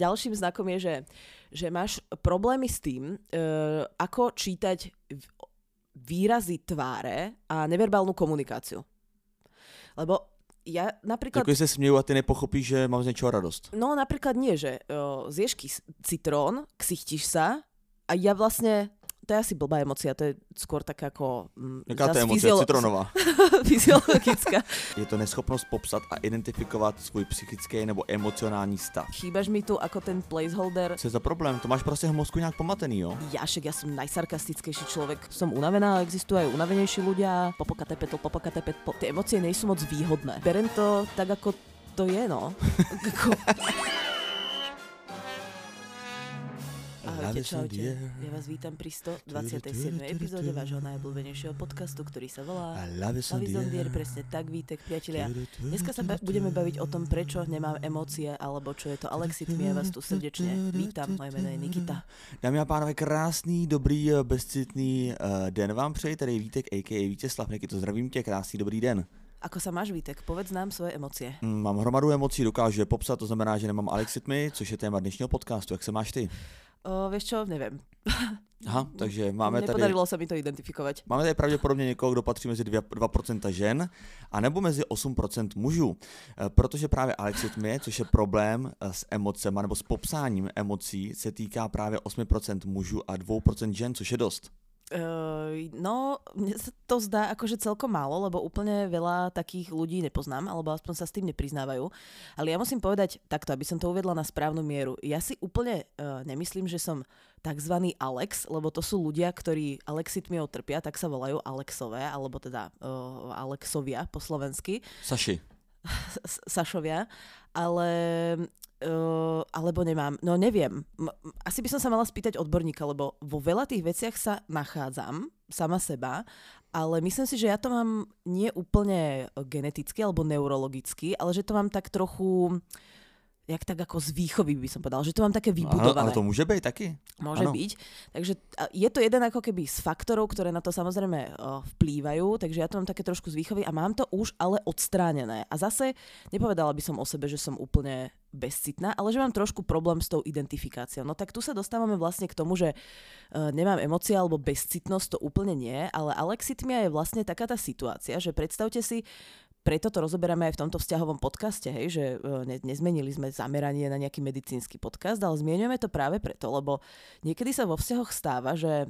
ďalším znakom je, že máš problémy s tým, ako čítať výrazy tváre a neverbálnu komunikáciu. Lebo ja napríklad... Jako se směju a ty nepochopíš, že mám z něčeho radost. No napríklad nie, že zješ citrón, ksichtiš sa a ja vlastne... To je asi blbá emócia, to je skôr taká ako... Jaká to je emoce? Citronová. Fyziologická. Je to neschopnost popsat a identifikovat svůj psychický nebo emocionální stav. Chýbaš mi tu ako ten placeholder. Co je za problém? To máš prostě v mozku nějak pomatený, jo? Ja som najsarkastickejší človek. Som unavená, existujú aj unavenejší ľudia. Popokatepetl. Tie emócie nie sú moc výhodné. Berem to tak, ako to je, no. Ahojte, čaute. Ja vás vítam pri 127. epizóde vášho najobľúbenejšieho podcastu, ktorý sa volá Lavisondier. Presne tak, Vítek, priatelia. Dneska sa budeme baviť o tom, prečo nemám emócie, alebo čo je to alexithmia. Ja vás tu srdečne vítam. Moje meno je Nikita. Dámy a pánové, krásný, dobrý, bezcitný den vám přeji. Tady je Vítek, a.k.a. Vítězslav Nikito. Zdravím tě, krásný, dobrý den. Ako sa máš, Vítek? Povedz nám svoje emócie. Mám hromadu emocí, dokážu je popsat, to znamená, že nemám alexithmy, což je téma dnešního podcastu. Jak se máš ty? Vieš čo, neviem. Aha, takže máme tady... Nepodarilo sa mi to identifikovať. Máme tady pravděpodobně někoho, kdo patří mezi 2% žen, anebo mezi 8% mužů. Protože právě alexithmie, což je problém s emocema nebo s popsáním emocí, se týká právě 8% mužů a 2% žen, což je dost. No, mne sa to zdá akože celkom málo, lebo úplne veľa takých ľudí nepoznám, alebo aspoň sa s tým nepriznávajú. Ale ja musím povedať takto, aby som to uvedla na správnu mieru. Ja si úplne nemyslím, že som takzvaný Alex, lebo to sú ľudia, ktorí alexithmiou trpia, tak sa volajú Alexové, alebo teda Alexovia po slovensky. Sašovia, ale alebo nemám, no neviem. Asi by som sa mala spýtať odborníka, lebo vo veľa tých veciach sa nachádzam sama seba, ale myslím si, že ja to mám nie úplne geneticky alebo neurologicky, ale že to mám tak trochu... jak tak ako z výchovy by som povedala, že to mám také vybudované. Ale to môže byť taky. Môže byť. Takže je to jeden ako keby z faktorov, ktoré na to samozrejme vplývajú, takže ja to mám také trošku z výchovy a mám to už ale odstránené. A zase nepovedala by som o sebe, že som úplne bezcitná, ale že mám trošku problém s tou identifikáciou. No tak tu sa dostávame vlastne k tomu, že nemám emócie alebo bezcitnosť, to úplne nie, ale alexithmia je vlastne taká tá situácia, že predstavte si, preto to rozoberáme aj v tomto vzťahovom podcaste, hej, že nezmenili sme zameranie na nejaký medicínsky podcast, ale zmieňujeme to práve preto, lebo niekedy sa vo vzťahoch stáva, že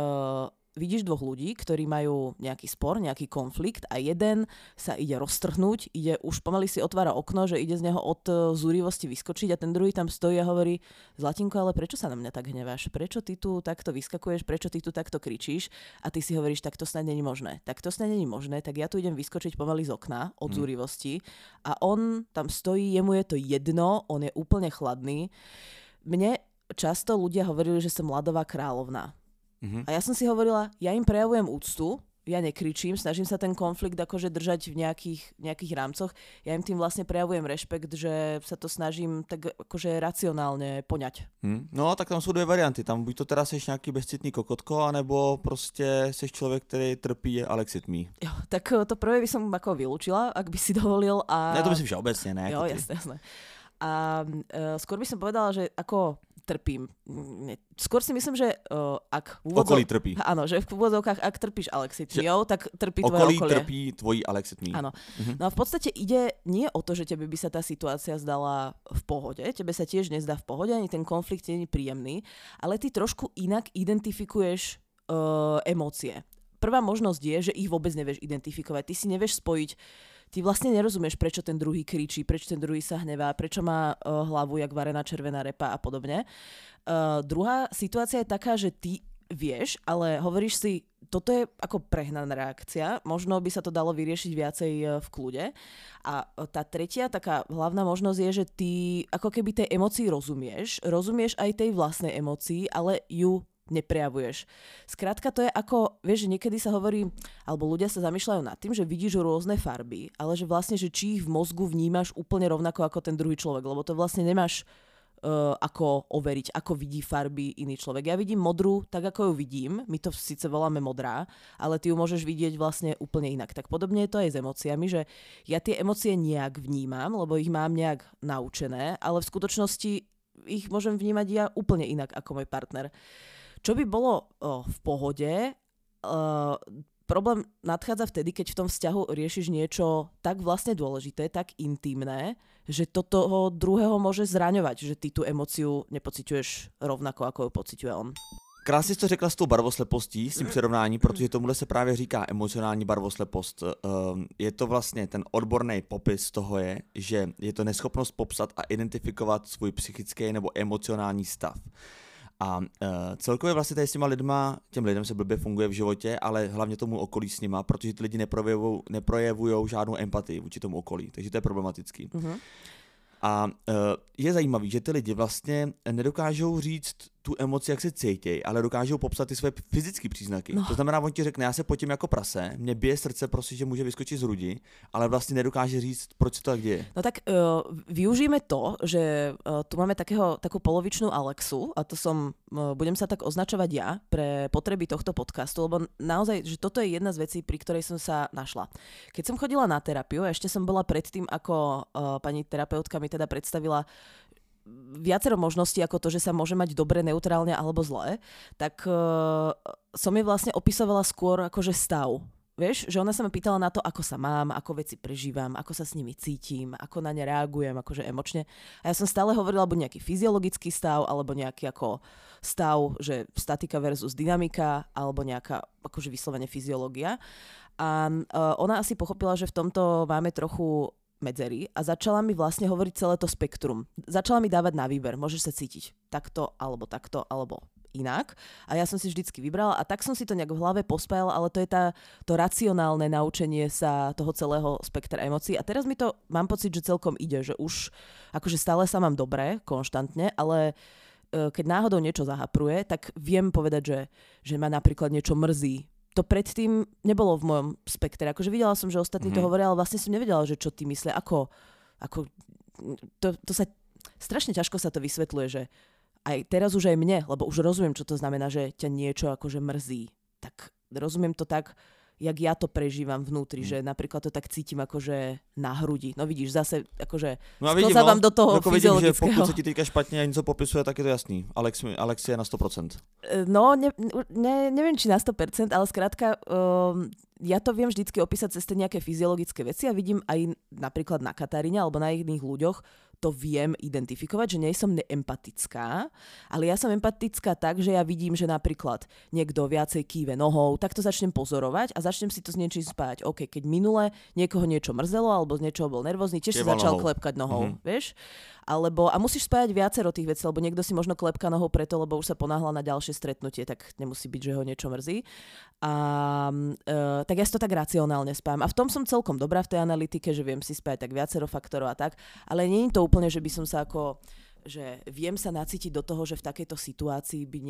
vidíš dvoch ľudí, ktorí majú nejaký spor, nejaký konflikt a jeden sa ide roztrhnúť, už pomaly si otvára okno, že ide z neho od zúrivosti vyskočiť a ten druhý tam stojí a hovorí: Zlatinko, ale prečo sa na mňa tak hneváš? Prečo ty tu takto vyskakuješ? Prečo ty tu takto kričíš? A ty si hovoríš: tak to snad není možné. Tak to snad není možné, tak ja tu idem vyskočiť pomaly z okna od zúrivosti a on tam stojí, jemu je to jedno, on je úplne chladný. Mne často ľudia hovorili, že som ľadová kráľovná. A ja som si hovorila, ja im prejavujem úctu, ja nekričím, snažím sa ten konflikt akože držať v nejakých rámcoch. Ja im tým vlastne prejavujem rešpekt, že sa to snažím tak akože racionálne poňať. No tak tam sú dvě varianty. Tam buď to teda seš nějaký bezcitný kokotko, anebo prostě seš člověk, který trpí alexithmii. Jo, tak to prvé by som ako vylúčila, ak by si dovolil. A... Ne, to myslím všeobecne, ne? Jo, jasné. A skôr by som povedala, že ako trpím. Skôr si myslím, že ak okolí trpí. Áno, že v úvodzovkách, ak trpíš alexithmiou, tak trpí tvoje okolie. Okolí trpí tvojí alexithmii. Áno. No a v podstate ide nie o to, že tebe by sa tá situácia zdala v pohode, tebe sa tiež nezdá v pohode, ani ten konflikt nie je príjemný, ale ty trošku inak identifikuješ emócie. Prvá možnosť je, že ich vôbec nevieš identifikovať. Ty si nevieš spojiť. Ty vlastne nerozumieš, prečo ten druhý kričí, prečo ten druhý sa hnevá, prečo má hlavu jak varená červená repa a podobne. Druhá situácia je taká, že ty vieš, ale hovoríš si, toto je ako prehnaná reakcia, možno by sa to dalo vyriešiť viacej v kľude. A tá tretia taká hlavná možnosť je, že ty ako keby tej emócii rozumieš aj tej vlastnej emócii, ale ju neprejavuješ. Skrátka to je ako, vieš, že niekedy sa hovorí, alebo ľudia sa zamýšľajú nad tým, že vidíš rôzne farby, ale že vlastne, že či ich v mozgu vnímaš úplne rovnako ako ten druhý človek, lebo to vlastne nemáš ako overiť, ako vidí farby iný človek. Ja vidím modrú tak, ako ju vidím, my to síce voláme modrá, ale ty ju môžeš vidieť vlastne úplne inak. Tak podobne je to aj s emóciami, že ja tie emócie nejak vnímam, lebo ich mám nejak naučené, ale v skutočnosti ich môžem vnímať ja úplne inak ako môj partner. Čo by bolo v pohode, problém nadchádza vtedy, keď v tom vzťahu riešiš niečo tak vlastne dôležité, tak intimné, že to toho druhého môže zraňovať, že ty tú emóciu nepociťuješ rovnako, ako ju pociťuje on. Krásně jsi to řekla s tou barvoslepostí, s tím přirovnání, protože tomuhle se právě říká emocionální barvoslepost. Je to vlastně ten odborný popis toho je, že je to neschopnost popsat a identifikovat svůj psychický nebo emocionální stav. A celkově vlastně tady s těma lidma, těm lidem se blbě funguje v životě, ale hlavně tomu okolí s nima, protože ty lidi neprojevujou žádnou empatii vůči tomu okolí, takže to je problematický. Mm-hmm. A je zajímavý, že ty lidi vlastně nedokážou říct tu emoci, jak se cítějí, ale dokážou popsat ty své fyzické příznaky. No. To znamená, on ti řekne, já se potím jako prase, mě bije srdce prostě, že může vyskočit z hrudi, ale vlastně nedokáže říct, proč se to tak děje. No tak využijeme to, že tu máme takú polovičnú Alexu a to budem sa tak označovať ja pre potreby tohto podcastu, lebo naozaj, že toto je jedna z vecí, pri ktorej som sa našla. Keď som chodila na terapiu, ešte som bola predtým, ako pani terapeutka mi teda predstavila viacero možností ako to, že sa môže mať dobre, neutrálne alebo zlé, tak som jej vlastne opisovala skôr akože stav. Vieš, že ona sa ma pýtala na to, ako sa mám, ako veci prežívam, ako sa s nimi cítim, ako na ne reagujem, akože emočne. A ja som stále hovorila buď nejaký fyziologický stav, alebo nejaký ako stav, že statika versus dynamika, alebo nejaká akože vyslovene fyziológia. A ona asi pochopila, že v tomto máme trochu medzery a začala mi vlastne hovoriť celé to spektrum. Začala mi dávať na výber, môžeš sa cítiť takto, alebo inak. A ja som si vždycky vybrala a tak som si to nejak v hlave pospájala, ale to je to racionálne naučenie sa toho celého spektra emócií. A teraz mi to, mám pocit, že celkom ide, že už akože stále sa mám dobre, konštantne, ale keď náhodou niečo zahapruje, tak viem povedať, že ma napríklad niečo mrzí. To predtým nebolo v mojom spektre. Akože videla som, že ostatní to hovoria, ale vlastne som nevedela, že čo ty myslia. To sa strašne ťažko sa to vysvetľuje, že aj teraz už aj mne, lebo už rozumiem, čo to znamená, že ťa niečo akože mrzí. Tak rozumiem to tak, jak ja to prežívam vnútri, že napríklad to tak cítim akože na hrudi. No vidíš, zase akože sklzávam do toho fyziologického. Vidím, že pokud se ti teďka špatně a něco popisuje, tak je to jasný. Alex je na 100%. No, neviem, či na 100%, ale skrátka ja to viem vždycky opísať cez tie nejaké fyziologické veci a vidím aj napríklad na Kataríne alebo na iných ľuďoch, to viem identifikovať, že nie som neempatická, ale ja som empatická tak, že ja vidím, že napríklad niekto viacej kýve nohou, tak to začnem pozorovať a začnem si to s niečím spájať. OK, keď minule niekoho niečo mrzelo alebo z niečoho bol nervózny, tiež si začal klepkať nohou, vieš? A musíš spájať viacero tých vecí, lebo niekto si možno klepka nohou preto, lebo už sa ponáhla na ďalšie stretnutie, tak nemusí byť, že ho niečo mrzí. Tak ja si to tak racionálne spájam. A v tom som celkom dobrá v tej analytike, že viem si spájať tak viacero faktorov a tak, ale nie je to úplne, že by som sa že viem sa nacítiť do toho, že v takejto situácii by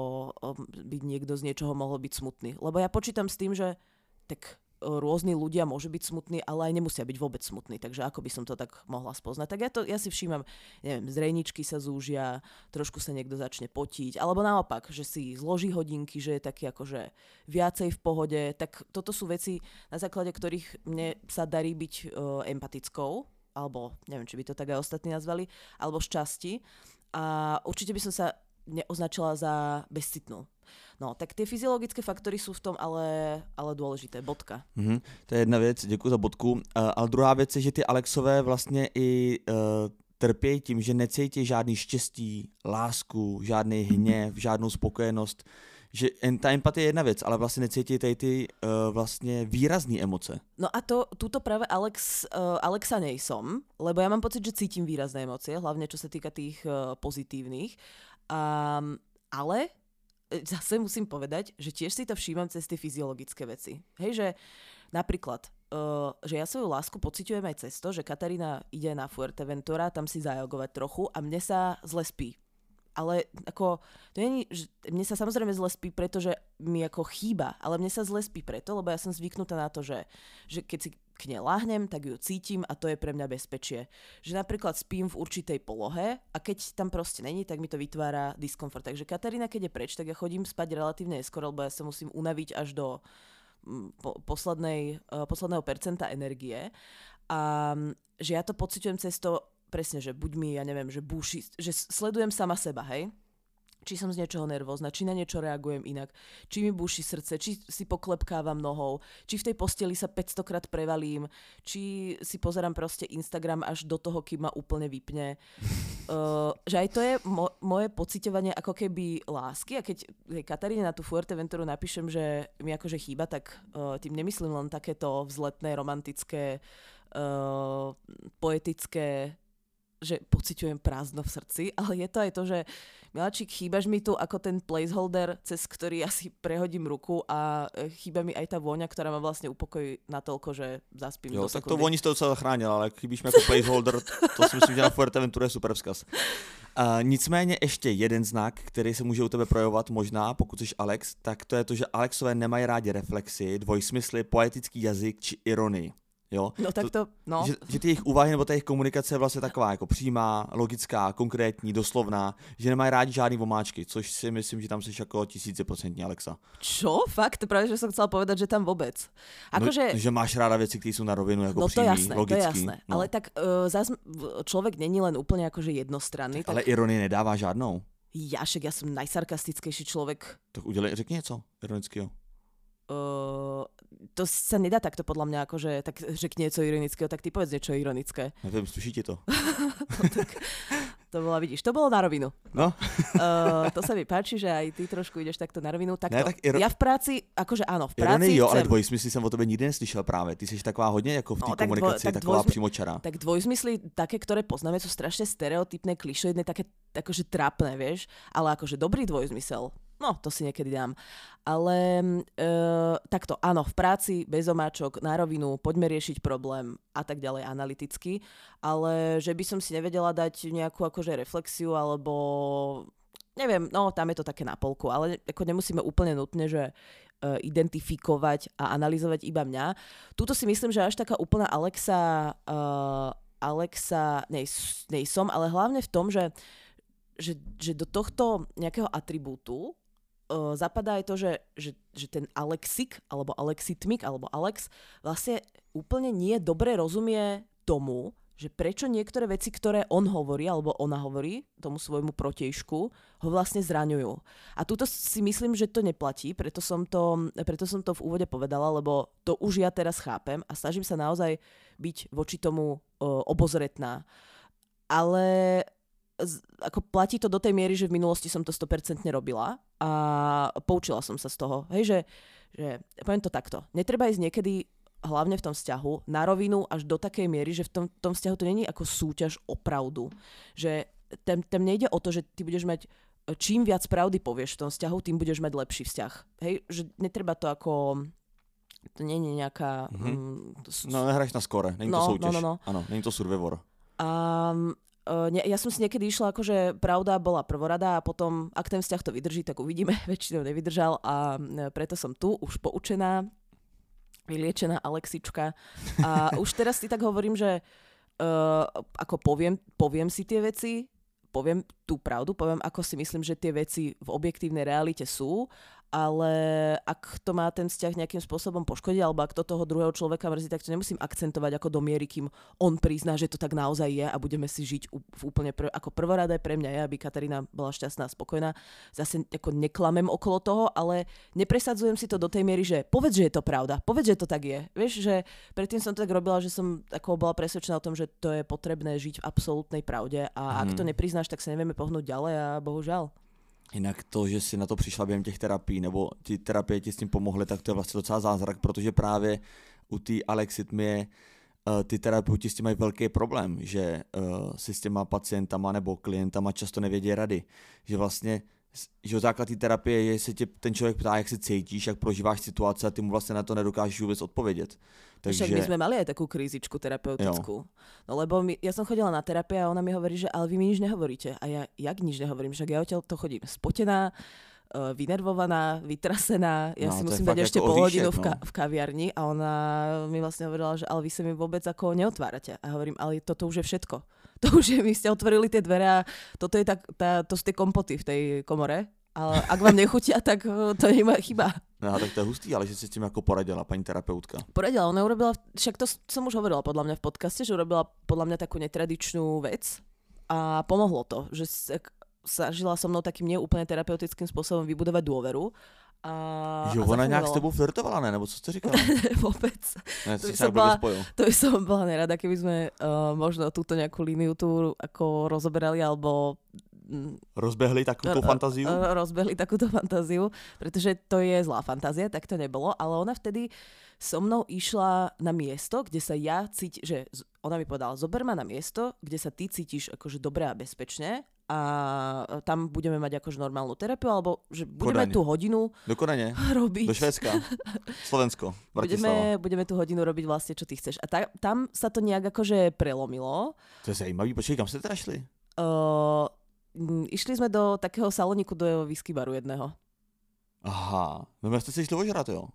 niekto z niečoho mohol byť smutný. Lebo ja počítam s tým, že tak rôzni ľudia môžu byť smutní, ale aj nemusia byť vôbec smutní. Takže ako by som to tak mohla spoznať? Tak ja si všímam, neviem, zrejničky sa zúžia, trošku sa niekto začne potiť, alebo naopak, že si zloží hodinky, že je taký akože viacej v pohode. Tak toto sú veci, na základe ktorých mne sa darí byť empatickou, alebo neviem, či by to tak aj ostatní nazvali, alebo šťastí. A určite by som sa neoznačila za bezcitnú. No, tak ty fyziologické faktory jsou v tom ale důležité, bodka. To je jedna věc, děkuji za bodku. Ale druhá věc je, že ty Alexové vlastně i trpějí tím, že necítí žádný štěstí, lásku, žádný hněv, žádnou spokojenost. Že ta empatie je jedna věc, ale vlastně necítí tady ty vlastně výrazné emoce. No a túto práve Alexa nejsom, lebo ja mám pocit, že cítim výrazné emócie, hlavne čo sa týka tých pozitívnych. Ale zase musím povedať, že tiež si to všímam cez tie fyziologické veci. Hej, že napríklad, že ja svoju lásku pociťujem aj cez to, že Katarína ide na Fuerteventura, tam si zajogovať trochu a mne sa zle spí. Ale ako, to nie, mne sa samozrejme zle spí, pretože mi ako chýba, ale mne sa zle spí preto, lebo ja som zvyknutá na to, že keď si k nej láhnem, tak ju cítim a to je pre mňa bezpečie. Že napríklad spím v určitej polohe a keď tam proste není, tak mi to vytvára diskomfort. Takže Katarína, keď je preč, tak ja chodím spať relatívne neskoro, lebo ja sa musím unaviť až do posledného percenta energie. A že ja to pociťujem cez to, presne, že buď mi, ja neviem, že búši, že sledujem sama seba, hej? Či som z niečoho nervózna, či na niečo reagujem inak, či mi búši srdce, či si poklepkávam nohou, či v tej posteli sa 500 krát prevalím, či si pozerám proste Instagram až do toho, kým ma úplne vypne. Že aj to je moje pociťovanie ako keby lásky a keď Kataríne na tú Fuerteventuru napíšem, že mi akože chýba, tak tým nemyslím len takéto vzletné, romantické, poetické, že pociťujem prázdno v srdci, ale je to aj to, že miláčik, chýbaš mi tu ako ten placeholder, cez ktorý asi prehodím ruku a chýba mi aj tá vôňa, ktorá ma vlastne upokojí natoľko, že zaspím do sekundy. Tak to vôni z toho docela zachránil, ale chybíš mi ako placeholder, to si myslím, že na Fuerteventure je super vzkaz. Nicméně ještě jeden znak, který se může u tebe projevovat možná, pokud jsi Alex, tak to je to, že Alexové nemají rádi reflexy, dvojsmysly, poetický jazyk či ironii. Jo? No tak to, no. Že ty jejich úvahy nebo ta jejich komunikace je vlastně taková jako přímá, logická, konkrétní, doslovná, že nemají rádi žádný vomáčky, což si myslím, že tam jsi jako 1000% Alexa. Čo? Fakt? Právě, že jsem chcela povedať, že tam vůbec. Že... že máš ráda věci, které jsou na rovinu, jako no, přímý, jasné, logický. To je jasné, no. Ale tak zás člověk není len úplně jakože jednostranný. Ale ironie nedává žádnou. Ja jsem najsarkastickejší člověk. Tak řekni něco ironického. To sa nedá takto podľa mňa, akože tak řekni niečo ironického, tak ty povedz niečo ironické. Neviem, sluší ti to. No, tak, to bolo, vidíš, to bolo na rovinu. No. To sa mi páči, že aj ty trošku ideš takto na rovinu. Takto. Ne, tak ja v práci, akože áno, v práci ironii, jo, chcem... ale dvojsmysly jsem o tebe nikdy neslyšel právě. Ty jsi taková hodně jako v té komunikaci, taková přímočará. Tak dvojzmysly, také, ktoré poznáme, sú strašne stereotypné, klišoidné, také akože trápne, vieš, ale akože dobrý dvojzmysel. No, to si niekedy dám. Ale takto, áno, v práci, bez omáčok, na rovinu, poďme riešiť problém a tak ďalej analyticky, ale že by som si nevedela dať nejakú akože reflexiu, alebo neviem, no tam je to také na polku, ale ako nemusíme úplne nutne, že identifikovať a analyzovať iba mňa. Tuto si myslím, že až taká úplná Alexa nejsom, ale hlavne v tom, že do tohto nejakého atribútu zapadá aj to, že ten Alexik, alebo Alexitmik, alebo Alex vlastne úplne nie dobre rozumie tomu, že prečo niektoré veci, ktoré on hovorí, alebo ona hovorí tomu svojmu protiejšku, ho vlastne zraňujú. A tuto si myslím, že to neplatí, preto som to v úvode povedala, lebo to už ja teraz chápem a snažím sa naozaj byť voči tomu obozretná. Ale ako platí to do tej miery, že v minulosti som to 100% robila a poučila som sa z toho. Hej, že poviem to takto. Netreba ísť niekedy, hlavne v tom vzťahu, na rovinu až do takej miery, že v tom vzťahu to není ako súťaž o pravdu. Že tam nejde o to, že ty budeš mať, čím viac pravdy povieš v tom vzťahu, tým budeš mať lepší vzťah. Hej, že netreba to ako... To nie je nejaká... No, nehráš na skore, není to súťaž. No. Áno, není to survivor. Ja som si niekedy išla, akože pravda bola prvorada a potom, ak ten vzťah to vydrží, tak uvidíme. Väčšinou nevydržal a preto som tu, už poučená, vyliečená Alexička. A už teraz si tak hovorím, že ako poviem si tie veci, poviem tú pravdu, poviem, ako si myslím, že tie veci v objektívnej realite sú, ale ak to má ten vzťah nejakým spôsobom poškodiť, alebo ak to toho druhého človeka mrzí, tak to nemusím akcentovať ako do miery, kým on prizná, že to tak naozaj je a budeme si žiť v úplne ako prvoradé pre mňa je, aby Katarína bola šťastná a spokojná. Zase ako neklamem okolo toho, ale nepresadzujem si to do tej miery, že povedz, že je to pravda, povedz, že to tak je. Vieš, že predtým som to tak robila, že som ako bola presvedčená o tom, že to je potrebné žiť v absolútnej pravde a ak to nepriznáš, tak sa nevieme pohnúť ďalej a bohužiaľ. Jinak to, že jsi na to přišla během těch terapií, nebo ty terapie ti s tím pomohly, tak to je vlastně docela zázrak, protože právě u té Alexitmie ty terapeuti s tím mají velký problém, že si s těma pacientama nebo klientama často nevědí rady, že vlastně že základ té terapie je, že se tě ten člověk ptá, jak se cítíš, jak prožíváš situace a ty mu vlastně na to nedokážeš vůbec odpovědět. Takže... Však my sme mali aj takú krízičku terapeutickú. No lebo ja som chodila na terapiu a ona mi hovorí, že ale vy mi nič nehovoríte. A ja jak nič nehovorím, však ja odtiaľ to chodím spotená, vynervovaná, vytrasená. Ja si musím dať ešte pol hodinu v kaviarni a ona mi vlastne hovorila, že ale vy sa mi vôbec ako neotvárate. A hovorím, ale toto už je všetko. To už je, vy ste otvorili tie dvere a toto je to sú tie kompoty v tej komore Ale ak vám nechutia, tak to nie je moja chyba. No tak to je hustý, ale že si s tím jako poradila paní terapeutka. Poradila, ona urobila, však to som už hovorila podľa mňa v podcaste, že urobila podľa mňa takú netradičnú vec a pomohlo to, že snažila so mnou takým neúplne terapeutickým spôsobom vybudovať dôveru. Jo, ona nějak s tebou flirtovala, ne? Nebo co jste říkala? Vôbec. Ne, to by som bola nerada, keby sme možno túto nejakú líniu tu ako rozoberali, alebo rozbehli takúto fantáziu? Rozbehli takúto fantáziu, pretože to je zlá fantázia, tak to nebolo, ale ona vtedy so mnou išla na miesto, kde sa ja cítim, že ona mi povedala, zober ma na miesto, kde sa ty cítiš akože dobre a bezpečne a tam budeme mať akože normálnu terapiu, alebo že budeme tú hodinu robiť. Do Švédska, Slovensko, Bratislava. Budeme tú hodinu robiť vlastne, čo ty chceš. A tam sa to nejak akože prelomilo. To je zajímavý, počkej, kam ste teda šli? Išli sme do takého saloniku, do whisky baru jedného. Aha, no my ste si išli ožrať, jo?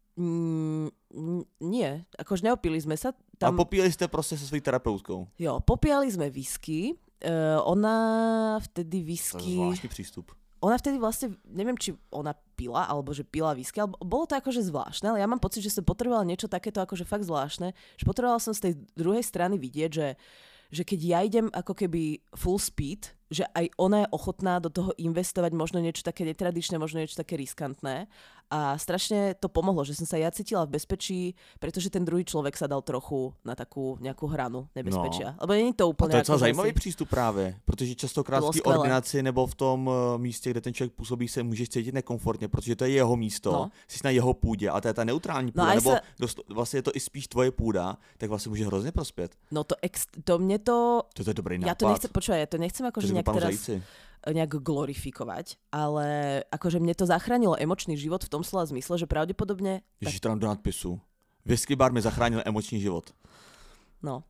Nie, akože neopili sme sa. A popíjali ste proste so svojou terapeutkou? Jo, popíjali sme whisky. Ona vtedy whisky... To je zvláštny prístup. Ona vtedy vlastne, neviem, či ona pila, alebo že pila whisky, ale bolo to akože zvláštne, ale ja mám pocit, že som potrebovala niečo takéto akože fakt zvláštne, že potrebovala som z tej druhej strany vidieť, že keď ja idem ako keby full speed, že aj ona je ochotná do toho investovať možno niečo také netradičné, možno niečo také riskantné. A strašne to pomohlo, že som sa ja cítila v bezpečí, pretože ten druhý človek sa dal trochu na takú nejakú hranu nebezpečia. No. Lebo není to úplne... A to je docela zajímavý přístup právě, protože častokrát v té ordinaci nebo v tom místě, kde ten člověk působí, se můžeš cítit nekomfortně, protože to je jeho místo, jsi na jeho půdě a to je ta neutrální půda, nebo vlastně je to i spíš tvoje půda, tak vlastně může hrozně prospět. No to mne to... To je dobrý nápad. Ja to nechcem, počúvaj, ja to nechcem akože nejak teraz... nejak glorifikovať, ale akože mne to zachránilo emočný život v tom slova zmysle, že pravdepodobne... Ježiš, tam do nadpisu. Whisky bar mi zachránil emočný život. No.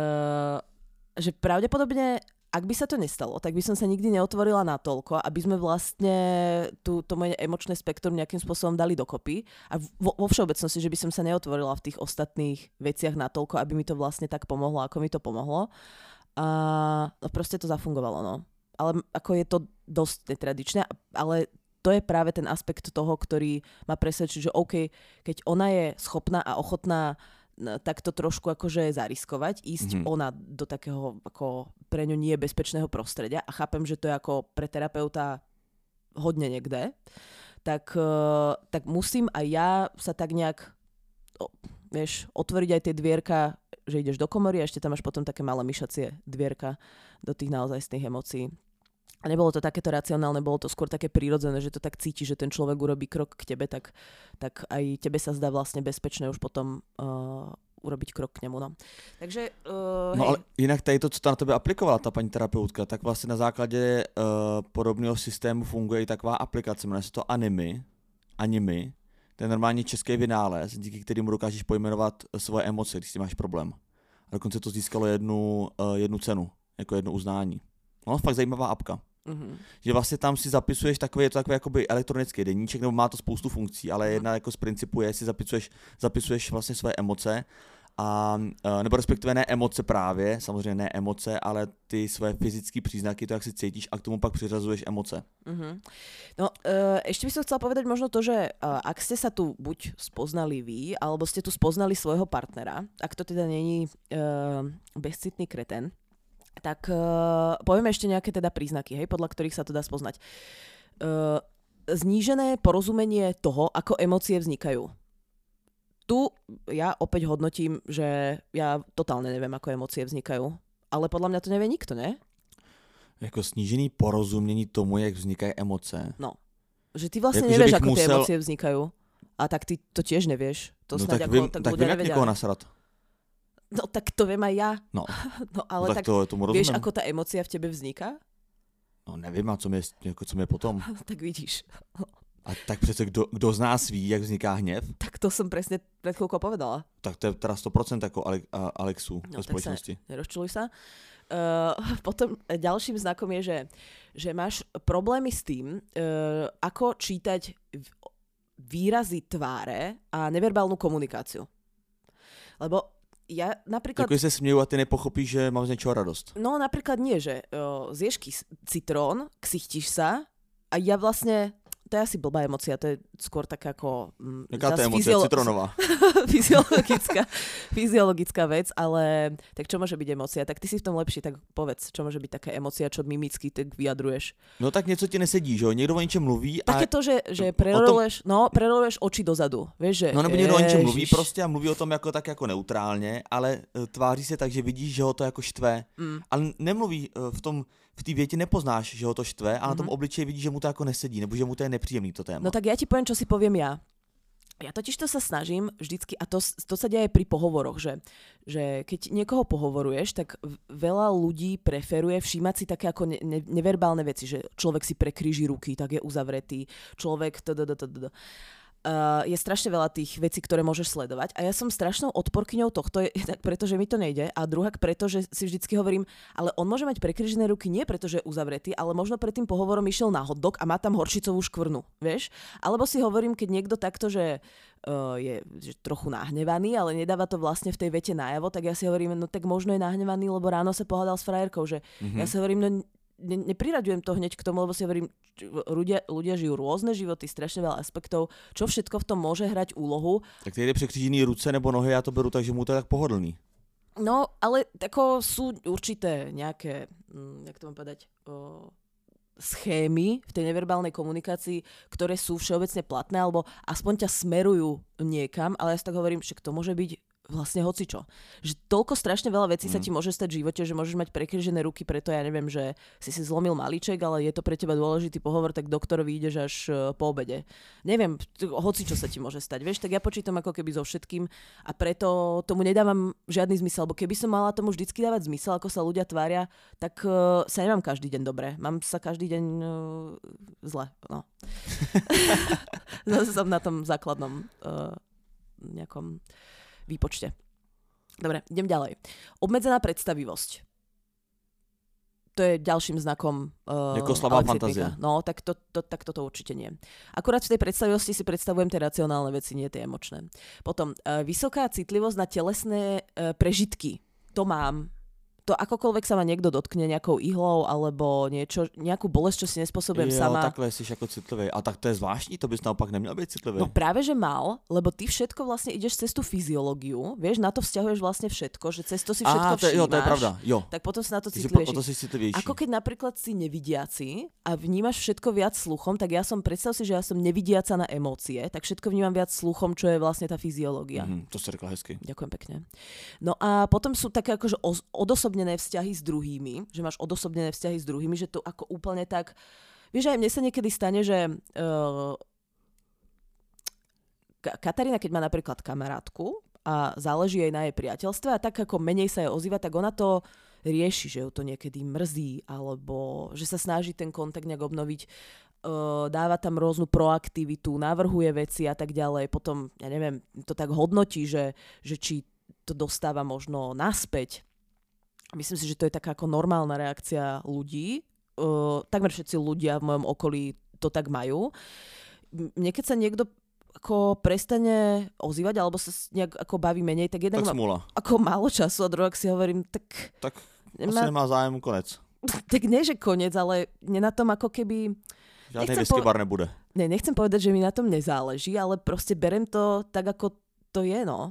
Že pravdepodobne, ak by sa to nestalo, tak by som sa nikdy neotvorila natoľko, aby sme vlastne to moje emočné spektrum nejakým spôsobom dali dokopy. A vo všeobecnosti, že by som sa neotvorila v tých ostatných veciach natoľko, aby mi to vlastne tak pomohlo, ako mi to pomohlo. A no proste to zafungovalo, no. Ale ako je to dosť netradičné, ale to je práve ten aspekt toho, ktorý ma presvedčí, že OK, keď ona je schopná a ochotná takto trošku akože zariskovať, ísť ona do takého ako pre ňu nie bezpečného prostredia a chápem, že to je ako pre terapeuta hodne niekde, tak musím aj ja sa tak nejak otvoriť aj tie dvierka, že ideš do komory a ešte tam máš potom také malé myšacie dvierka do tých naozajstných emócií. A nebolo to takéto racionálne, bolo to skôr také prírodzené, že to tak cíti, že ten človek urobí krok k tebe, tak aj tebe sa zdá vlastne bezpečné už potom urobiť krok k nemu. No. Takže, no ale jinak tady to, co na tebe aplikovala ta paní terapeutka, tak vlastně na základě podobného systému funguje i taková aplikace, jmenuje se to Animi. To je normálně český vynález, díky kterému dokážeš pojmenovat svoje emoce, když si máš problém. A dokonce to získalo jednu cenu, jako jedno uznání. No, fakt zajímavá apka. Že vlastně tam si zapisuješ takový jakoby elektronický deníček, nebo má to spoustu funkcí, ale jedna jako z principu je, si zapisuješ vlastně své emoce, nebo respektive ne emoce právě, samozřejmě ne emoce, ale ty své fyzické příznaky, to jak si cítíš a k tomu pak přiřazuješ emoce. No, ešte by som chcela povedať možno to, že ak ste sa tu buď spoznali vy, alebo ste tu spoznali svojho partnera, ak to teda není bezcitný kreten, tak povieme ešte nejaké teda príznaky, hej, podľa ktorých sa to dá spoznať. Znížené porozumenie toho, ako emócie vznikajú. Tu ja opäť hodnotím, že ja totálne neviem, ako emócie vznikajú. Ale podľa mňa to nevie nikto, ne? Jako snížený porozumění tomu, jak vznikají emoce. No. Že ty vlastne jako, nevieš, ako tie emócie vznikajú. A tak ty to tiež nevieš. To no snáď tak ako vím, tak tak ľudia vím, jak nevedia. někoho nasrat. No tak to viem aj ja. No ale tak tomu vieš, ako tá emócia v tebe vzniká? No nevím, a co mi je potom. Tak vidíš. A tak přece kdo z nás ví, jak vzniká hněv? Tak to som presne pred chvíľkou povedala. Tak to je teda 100% ako Alexu ve spoločnosti. Nerozčuluj sa. Potom ďalším znakom je, že máš problémy s tým, ako čítať výrazy tváre a neverbálnu komunikáciu. Lebo ja napríklad... Takový se směju a ty nepochopíš, že mám z něčeho radost. No napríklad nie, že zješ citrón, ksichtiš sa A ja vlastne, to je asi blbá emócia, to je skôr taká ako... Jaká to je emócia? Citronová. fyziologická vec, ale tak čo môže byť emócia? Tak ty si v tom lepší, tak povedz, čo môže byť taká emócia, čo mimicky tak vyjadruješ. No tak něco ti nesedí, že jo? Někdo o ničem mluví a... Také to, že preroluješ oči dozadu, vieš, že... No nebo někdo o ničem mluví prostě a mluví o tom jako tak jako neutrálně, ale tváří se tak, že vidíš, že ho to jako štve. Ale nemluví v té větě nepoznáš, že ho to štve, a na tom obličeji vidíš, že mu to jako nesedí, nebo že mu to je nepříjemný to téma. No tak ja ti poviem, čo si poviem ja. Ja totiž to sa snažím vždycky, a to sa deje aj pri pohovoroch, že keď niekoho pohovoruješ, tak veľa ľudí preferuje všímať si také ako neverbálne veci, že človek si prekríži ruky, tak je uzavretý, človek je strašne veľa tých vecí, ktoré môžeš sledovať a ja som strašnou odporkyňou tohto, tak pretože mi to nejde a druhak preto, že si vždycky hovorím, ale on môže mať prekrížené ruky nie preto, že je uzavretý, ale možno pred tým pohovorom išiel na hot dog a má tam horčicovú škvrnu, vieš? Alebo si hovorím, keď niekto takto, že je trochu nahnevaný, ale nedáva to vlastne v tej vete najavo, tak ja si hovorím, no tak možno je nahnevaný, lebo ráno sa pohádal s frajerkou, že ja si hovorím, no nepriraďujem to hneď k tomu, lebo si hovorím, ľudia žijú rôzne životy, strašne veľa aspektov, čo všetko v tom môže hrať úlohu. Tak ty jde překřížený ruce nebo nohy, já to beru tak, že mu to je tak pohodlný. No, ale tako sú určité nejaké, jak to mám povedať, schémy v tej neverbálnej komunikácii, ktoré sú všeobecne platné, alebo aspoň ťa smerujú niekam, ale ja si tak hovorím, že to môže byť vlastne hocičo. Že toľko strašne veľa vecí sa ti môže stať v živote, že môžeš mať prekrížené ruky, preto ja neviem, že si zlomil malíček, ale je to pre teba dôležitý pohovor, tak doktorovi ideš až po obede. Neviem, hocičo sa ti môže stať, vieš, tak ja počítam ako keby so všetkým a preto tomu nedávam žiadny zmysel, lebo keby som mala tomu vždycky dávať zmysel, ako sa ľudia tvária, tak sa nemám každý deň dobre. Mám sa každý deň zle, no. Zase som na tom základnom nejakom výpočte. Dobre, idem ďalej. Obmedzená predstavivosť. To je ďalším znakom jako slabá fantázia. No, tak toto určite nie. Akurát v tej predstavivosti si predstavujem tie racionálne veci, nie tie emočné. Potom vysoká citlivosť na telesné prežitky. To mám. To akokoľvek sa ma niekto dotkne nejakou ihlou alebo niečo, nejakú bolesť, čo si nespôsobujem sama. Jo, takhle jsi jako citlivý. A tak to je zvláštní, to bys naopak neměl být citlivý. No práve, že mal, lebo ty všetko vlastne ideš cez tú fyziológiu, vieš, na to vzťahuješ vlastne všetko, že cez to si všetko všímáš. Jo, to je pravda, jo. Tak potom si na to citlivejší. Ako keď napríklad si nevidiaci a vnímaš všetko viac sluchom, tak ja som, predstav si, že ja som nevidiaca na emócie, tak všetko vnímam viac sluchom, čo je vlastne tá fyziológia. To si řekla hezky. Ďakujem pekne. No a potom sú také akože odosobnené vzťahy s druhými, že máš odosobnené vzťahy s druhými, že to ako úplne tak... Vieš, aj mne sa niekedy stane, že Katarína, keď má napríklad kamarátku a záleží jej na jej priateľstve a tak ako menej sa jej ozýva, tak ona to rieši, že ju to niekedy mrzí alebo že sa snaží ten kontakt nejak obnoviť, dáva tam rôznu proaktivitu, navrhuje veci a tak ďalej. Potom, ja neviem, to tak hodnotí, že či to dostáva možno naspäť. Myslím si, že to je taká ako normálna reakcia ľudí. Takmer všetci ľudia v mojom okolí to tak majú. Mne keď sa niekto ako prestane ozývať alebo sa nejak ako baví menej, tak jednak mám ako málo času a druhak si hovorím, tak asi nemá zájem, konec. Tak nie, že konec, ale nie na tom ako keby... Žiadny whisky bar nebude. Ne, nechcem povedať, že mi na tom nezáleží, ale proste berem to tak, ako to je, no.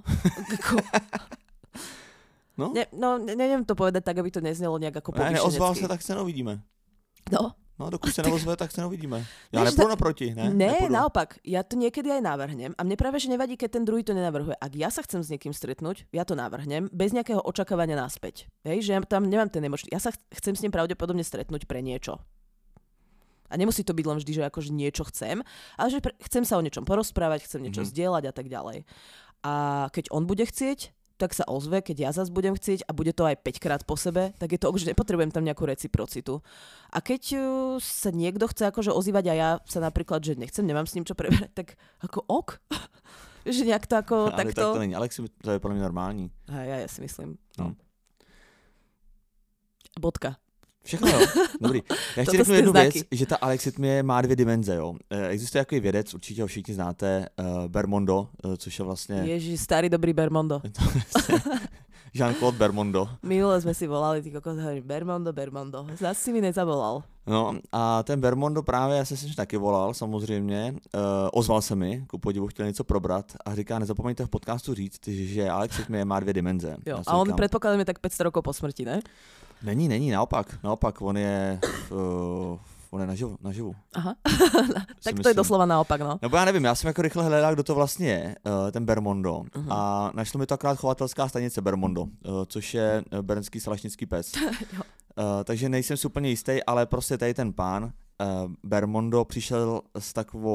No? Neviem to povedať tak, aby to neznelo nejak ako povyšenecky. Neozval sa, tak sa neuvidíme. No. No, dokud sa neozve, tak sa neuvidíme. Ja nepôjdu naproti, ne? Ne, naopak. Ja to niekedy aj navrhnem a mne práve, že nevadí, keď ten druhý to nenavrhuje. Ak ja sa chcem s niekým stretnúť, ja to navrhnem bez nejakého očakávania naspäť. Hej, že ja tam nemám ten emočný. Ja sa chcem s ním pravdepodobne stretnúť pre niečo. A nemusí to byť len vždy, že akože niečo chcem, ale že chcem sa o niečom porozprávať, chcem niečo zdieľať a tak ďalej. A keď on bude chcieť, tak sa ozve, keď ja zase budem chcieť a bude to aj 5 krát po sebe, tak je to, že nepotrebujem tam nejakú reciprocitu. A keď sa niekto chce akože ozývať a ja sa napríklad, že nemám s ním čo preberať, tak ako ok. Že nejak to ako ale takto... Tak to není, Alexi, to je pro mě normální. Ja si myslím. No. Bodka. Všechno, jo. Dobrý. Já ještě řeknu jednu věc, že ta alexitmie má 2 dimenze, jo. Existuje takový vědec, určitě ho všichni znáte, Bermondo, což je vlastně... Ježiš, starý dobrý Bermondo. Jean-Claude Bermondo. Minule sme si volali, ty kokos, hovorím, Bermondo. Zas si mi nezavolal. No a ten Bermondo právě, já jsem si taky volal samozřejmě, ozval se mi, ku podivu chtěl něco probrat a říká, nezapomeňte v podcastu říct, že Alex Rytmie má 2 dimenze. Jo, a on předpokládám je tak 500 rokov po smrti, ne? Není, naopak, on je naživu. Aha, tak to je doslova naopak, no. Nebo já nevím, já jsem jako rychle hledal, kdo to vlastně je, ten Bermondo. A našlo mi to akorát chovatelská stanice Bermondo, což je bernský salašnický pes. Takže nejsem si úplně jistý, ale prostě tady ten pán Bermondo přišel s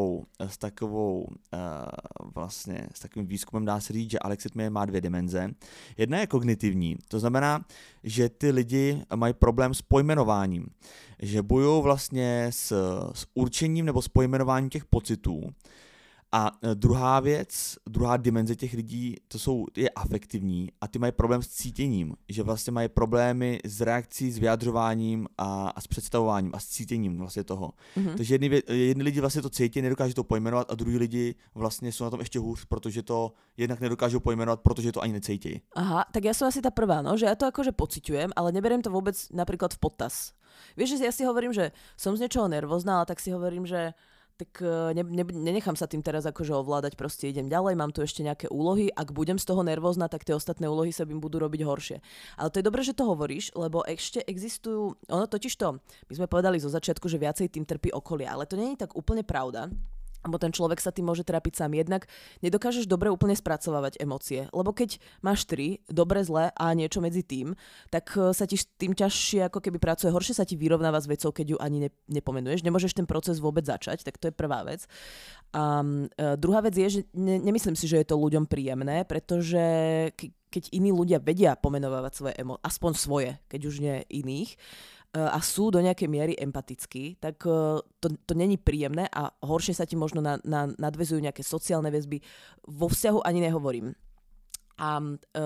takovým výzkumem, dá se říct, že Alex Rytmie má 2 dimenze. Jedna je kognitivní, to znamená, že ty lidi mají problém s pojmenováním, že bojují vlastně s určením nebo s pojmenováním těch pocitů. A druhá věc, druhá dimenze těch lidí, je afektivní a ty mají problém s cítěním, že vlastně mají problémy s reakcí, s vyjadřováním a s představováním a s cítěním vlastně toho. Takže jedni lidi vlastně to cítí, nedokážou to pojmenovat a druhý lidi vlastně jsou na tom ještě hůř, protože to jednak nedokážou pojmenovat, protože to ani necítí. Aha, tak ja som asi tá prvá, no, že ja to akože pociťujem, ale neberiem to vôbec napríklad v potaz. Vieš, že ja si hovorím, že som z niečoho nervózna, ale tak si hovorím, že tak nenechám sa tým teraz akože ovládať, proste idem ďalej, mám tu ešte nejaké úlohy, ak budem z toho nervózna, tak tie ostatné úlohy sa im budú robiť horšie. Ale to je dobré, že to hovoríš, lebo ešte existujú, ono totižto, my sme povedali zo začiatku, že viacej tým trpí okolie, ale to nie je tak úplne pravda. Lebo ten človek sa tým môže trápiť sám. Jednak nedokážeš dobre úplne spracovávať emócie. Lebo keď máš 3, dobre, zlé a niečo medzi tým, tak sa ti tým ťažšie ako keby pracuje. Horšie sa ti vyrovnáva s vecou, keď ju ani nepomenuješ. Nemôžeš ten proces vôbec začať, tak to je prvá vec. A druhá vec je, že nemyslím si, že je to ľuďom príjemné, pretože keď iní ľudia vedia pomenovávať svoje emócie, aspoň svoje, keď už nie iných, a sú do nejakej miery empatickí, tak to není príjemné a horšie sa ti možno nadväzujú nejaké sociálne väzby. Vo vzťahu ani nehovorím. A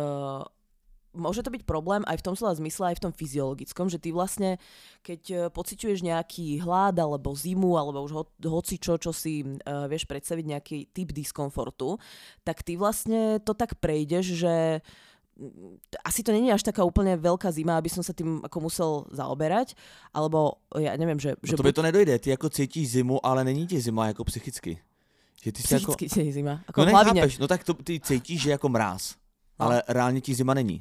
môže to byť problém aj v tom slova zmysle, aj v tom fyziologickom, že ty vlastne, keď pociťuješ nejaký hlad alebo zimu, alebo už hocičo, čo si vieš predstaviť, nejaký typ diskomfortu, tak ty vlastne to tak prejdeš, že asi to není až taká úplne veľká zima, aby som sa tým ako musel zaoberať, alebo ja neviem, že... No to by to nedojde, ty jako cítíš zimu, ale není ti zima jako psychicky. Že ty psychicky jako... je zima, ako no hlavne. nechápeš, no tak to, ty cítíš, že jako mráz, ale reálně ti zima není.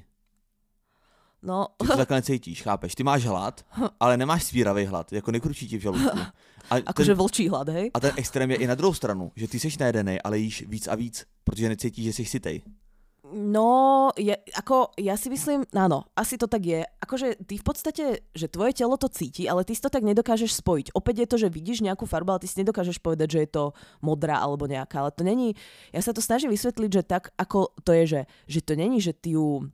No. Ty to takhle necítíš, chápeš? Ty máš hlad, ale nemáš svíravý hlad, jako nekručí ti v žaludku. Akože vlčí hlad, hej? A ten extrém je i na druhou stranu, že ty seš najedenej, ale jíš víc a víc, protože necítíš, že jsi sytej. No, ja si myslím, áno, asi to tak je. Akože ty v podstate, že tvoje telo to cíti, ale ty si to tak nedokážeš spojiť. Opäť je to, že vidíš nejakú farbu, ale ty si nedokážeš povedať, že je to modrá alebo nejaká. Ale to není, ja sa to snažím vysvetliť, že tak ako to je, že to není, že ty ju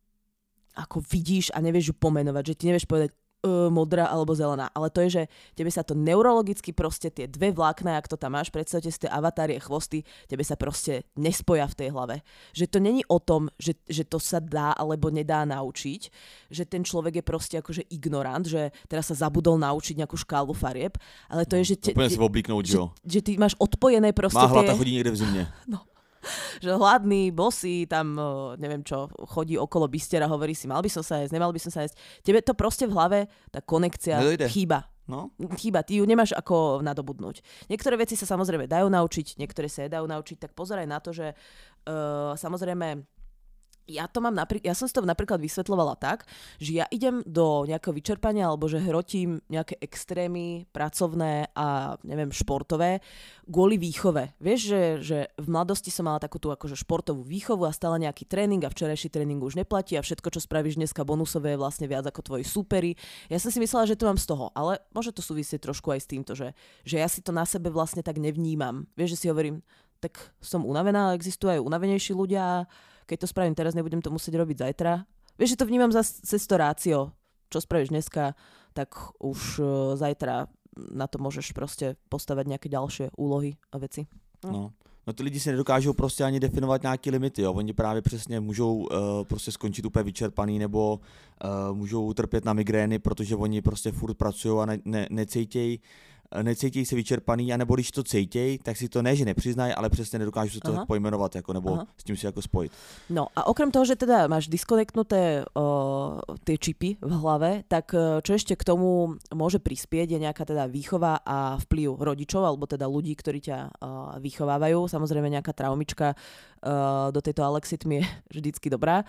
ako vidíš a nevieš ju pomenovať, že ty nevieš povedať modrá alebo zelená, ale to je, že tebe sa to neurologicky proste tie 2 vlákna, jak to tam máš, predstavte si tie avatárie chvosty, tebe sa proste nespoja v tej hlave. Že to není o tom, že to sa dá alebo nedá naučiť, že ten človek je proste akože ignorant, že teraz sa zabudol naučiť nejakú škálu farieb, ale to je, že... Úplne si oblíknout, jo. Že ty máš odpojené proste má hlad a chodí niekde v zimě. No. Že hladný, bosý, tam neviem čo, chodí okolo bistiera, hovorí si, mal by som sa jesť, nemal by som sa jesť. Tebe to proste v hlave, tá konekcia chýba. No? Chýba, ty ju nemáš ako nadobudnúť. Niektoré veci sa samozrejme dajú naučiť, niektoré sa nedajú naučiť, tak pozeraj na to, že samozrejme ja som si to napríklad vysvetľovala tak, že ja idem do nejakého vyčerpania alebo že hrotím nejaké extrémy pracovné a neviem, športové kvôli výchove. Vieš, že v mladosti som mala takú tú akože športovú výchovu a stále nejaký tréning a včerajší tréning už neplatí a všetko, čo spravíš dneska bonusové, je vlastne viac ako tvoji súperi. Ja som si myslela, že to mám z toho, ale môže to súvisieť trošku aj s týmto, že ja si to na sebe vlastne tak nevnímam. Vieš, že si hovorím, tak som unavená, existujú aj unavenejší ľudia. Keď to spravím teraz, nebudem to musieť robiť zajtra. Vieš, že to vnímam cez to rácio. Čo spravíš dneska, tak už zajtra na to môžeš proste postavať nejaké ďalšie úlohy a veci. No ty lidi si nedokážou prostě ani definovat nějaké limity, jo. Oni právě přesně můžou prostě skončit úplně vyčerpaný nebo můžou trpět na migrény, protože oni prostě furt pracují a necítějí. necítějí se vyčerpaný, anebo když to cítějí, tak si to ne, že nepřiznají, ale přesně nedokážu to tak pojmenovat, jako, nebo s tím si jako spojit. No a okrem toho, že teda máš diskonektnuté tie čipy v hlave, tak čo ešte k tomu môže prispieť je nejaká teda výchova a vplyv rodičov, alebo teda ľudí, ktorí ťa vychovávajú. Samozrejme nejaká traumička do tejto alexithmy je vždycky dobrá.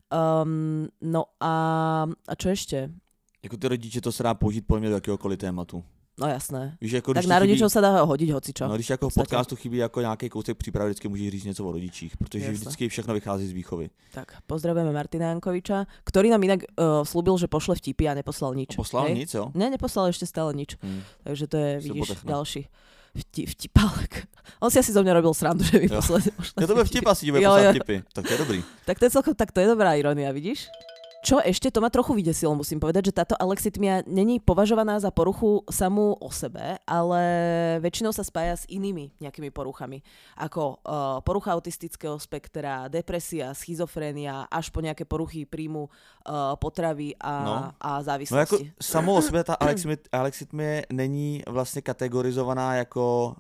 No a čo ešte? Jako ty rodiče to se dá použít podle mě do jakéhokoliv tématu. No jasné. Víš, jako, tak na rodičov sa dá hodiť hocičo. No když jako v podcastu chybí jako nějaký kousek přípravy, vždycky můžeš říct něco o rodičích, protože jasné. vždycky všechno vychází z výchovy. Tak, pozdravujeme Martina Jankoviča, ktorý nám inak slúbil, že pošle vtipy a neposlal nič. Poslal nic, jo? Ne, neposlal ešte stále nič. Takže to je, vidíš, potechne. ďalší vtipálek. On si asi zo mňa robil srandu, že mi pošle Ja to bude vtip asi, bude poslať vtipy. Tak to je dobrý. Tak to je dobrá irónia, vidíš? Čo ešte, to ma trochu vydesilo, musím povedať, že táto alexithmia není považovaná za poruchu samú o sebe, ale väčšinou sa spája s inými nejakými poruchami, ako porucha autistického spektra, depresia, schizofrénia, až po nejaké poruchy príjmu potravy a závislosti. No jako samou o sebe ta alexithmie není vlastně kategorizovaná jako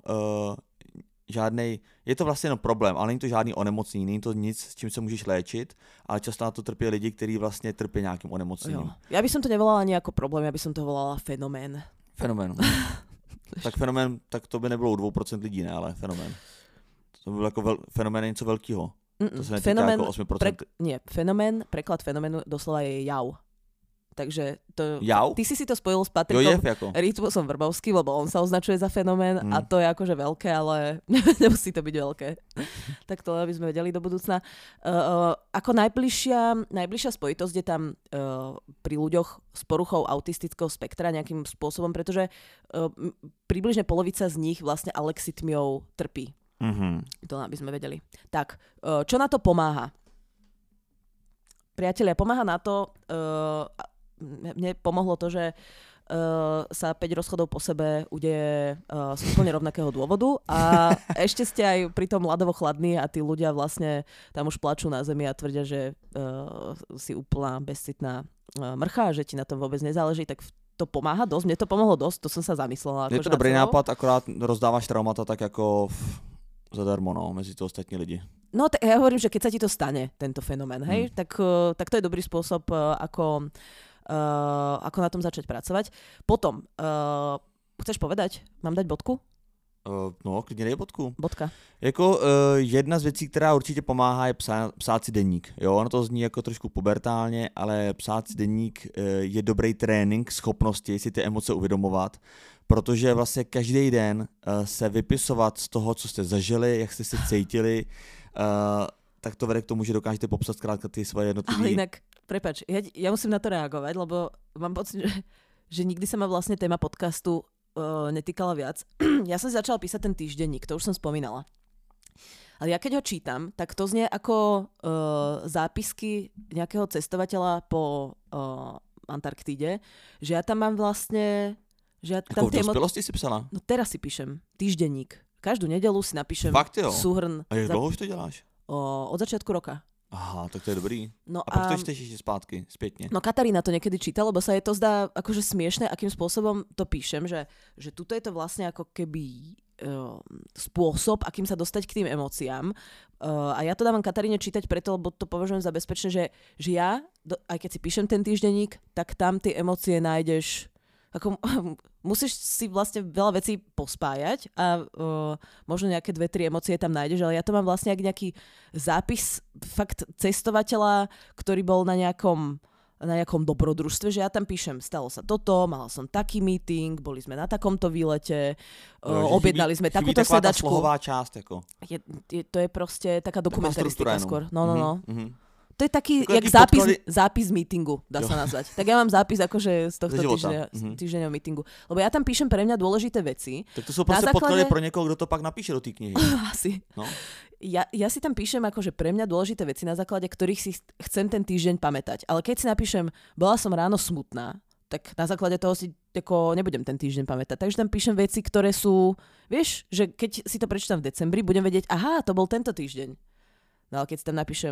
žádnej, je to vlastně jenom problém, ale není to žádný onemocnění, není to nic, s čím se můžeš léčit, ale často na to trpí lidi, kteří vlastně trpí nějakým onemocněním. Jo. Ja by som to nevolala ani ako problém, ja by som to volala fenomén. Fenomén. Tak fenomén, tak to by nebylo u 2% lidí, ne, ale fenomén. To by bylo jako fenomén něco velkého. To se netýká fenomén, jako 8%. Fenomén, preklad fenoménu doslova je jav. Takže to, Jau? Ty si to spojil s Patrikom jako. Rytmusom Vrbovským, lebo on sa označuje za fenomén a to je akože veľké, ale nemusí to byť veľké. Tak to aby sme vedeli do budúcna. Ako najbližšia spojitosť je tam pri ľuďoch s poruchou autistického spektra nejakým spôsobom, pretože približne polovica z nich vlastne alexithmiou trpí. To aby sme vedeli. Tak, čo na to pomáha? Priatelia, pomáha na to, mne pomohlo to, že sa 5 rozchodov po sebe udeje z úplne rovnakého dôvodu a ešte ste aj pri tom ľadovo chladní a tí ľudia vlastne tam už plačú na zemi a tvrdia, že si úplná bezcitná mrcha, že ti na tom vôbec nezáleží, tak to pomáha dosť. Mne to pomohlo dosť, to som sa zamyslela. Je to dobrý nápad, akorát rozdávaš traumata tak ako zadarmo, no, mezi to ostatní lidi. No, ja hovorím, že keď sa ti to stane, tento fenomén, hej, tak to je dobrý spôsob, ako na tom začať pracovať. Potom, chceš povedať? Mám dať bodku? No, klidně dej bodku. Bodka. Jako jedna z věcí, která určitě pomáhá, je psát si deník. Jo, ono to zní jako trošku pubertálně, ale psát si deník je dobrý trénink schopnosti si ty emoce uvědomovat, protože vlastně každý den se vypisovat z toho, co jste zažili, jak jste se cítili, tak to vede k tomu, že dokážete popsat zkrátka ty svoje jednotlivé. Ale inak, prepáč, ja musím na to reagovať, lebo mám pocit, že nikdy sa ma vlastne téma podcastu netýkala viac. Ja som si začala písať ten týždenník, to už som spomínala. Ale ja keď ho čítam, tak to znie ako zápisky nejakého cestovateľa po Antarktíde, že ja tam mám vlastne... Že ja tam v dospelosti si psala? No teraz si píšem týždenník. Každú nedeľu si napíšem súhrn. A jak dlouho už to děláš? Od začiatku roka. Aha, tak to je dobrý. No a pak to čteš ešte zpátky, spätne. No Katarína to niekedy číta, lebo sa jej to zdá akože smiešné, akým spôsobom to píšem, že tuto je to vlastne ako keby spôsob, akým sa dostať k tým emóciám. A ja to dávam Kataríne čítať preto, lebo to považujem za bezpečné, že ja, aj keď si píšem ten týždenník, tak tam tie emócie nájdeš. Ako, musíš si vlastne veľa vecí pospájať a možno nejaké 2-3 emócie tam nájdeš, ale ja to mám vlastne ako nejaký zápis fakt cestovateľa, ktorý bol na nejakom dobrodružstve, že ja tam píšem, stalo sa toto, mal som taký meeting, boli sme na takomto výlete, objednali sme takúto sedačku. Chybí taková časť, ako. To je proste taká dokumentaristika skôr. No. To je taký, jak zápis meetingu, dá sa nazvať. Tak ja mám zápis akože z tohto týždňového meetingu. Lebo ja tam píšem pre mňa dôležité veci. Tak to sú proste podklady pro niekoho, kto to pak napíše do tej knihy. Asi. No. Ja si tam píšem akože pre mňa dôležité veci, na základe ktorých si chcem ten týždeň pamätať. Ale keď si napíšem, bola som ráno smutná, tak na základe toho si nebudem ten týždeň pamätať. Takže tam píšem veci, ktoré sú, vieš, že keď si to prečítam v decembri, budem vedieť, aha, to bol tento týždeň. No ale keď si tam napíšem,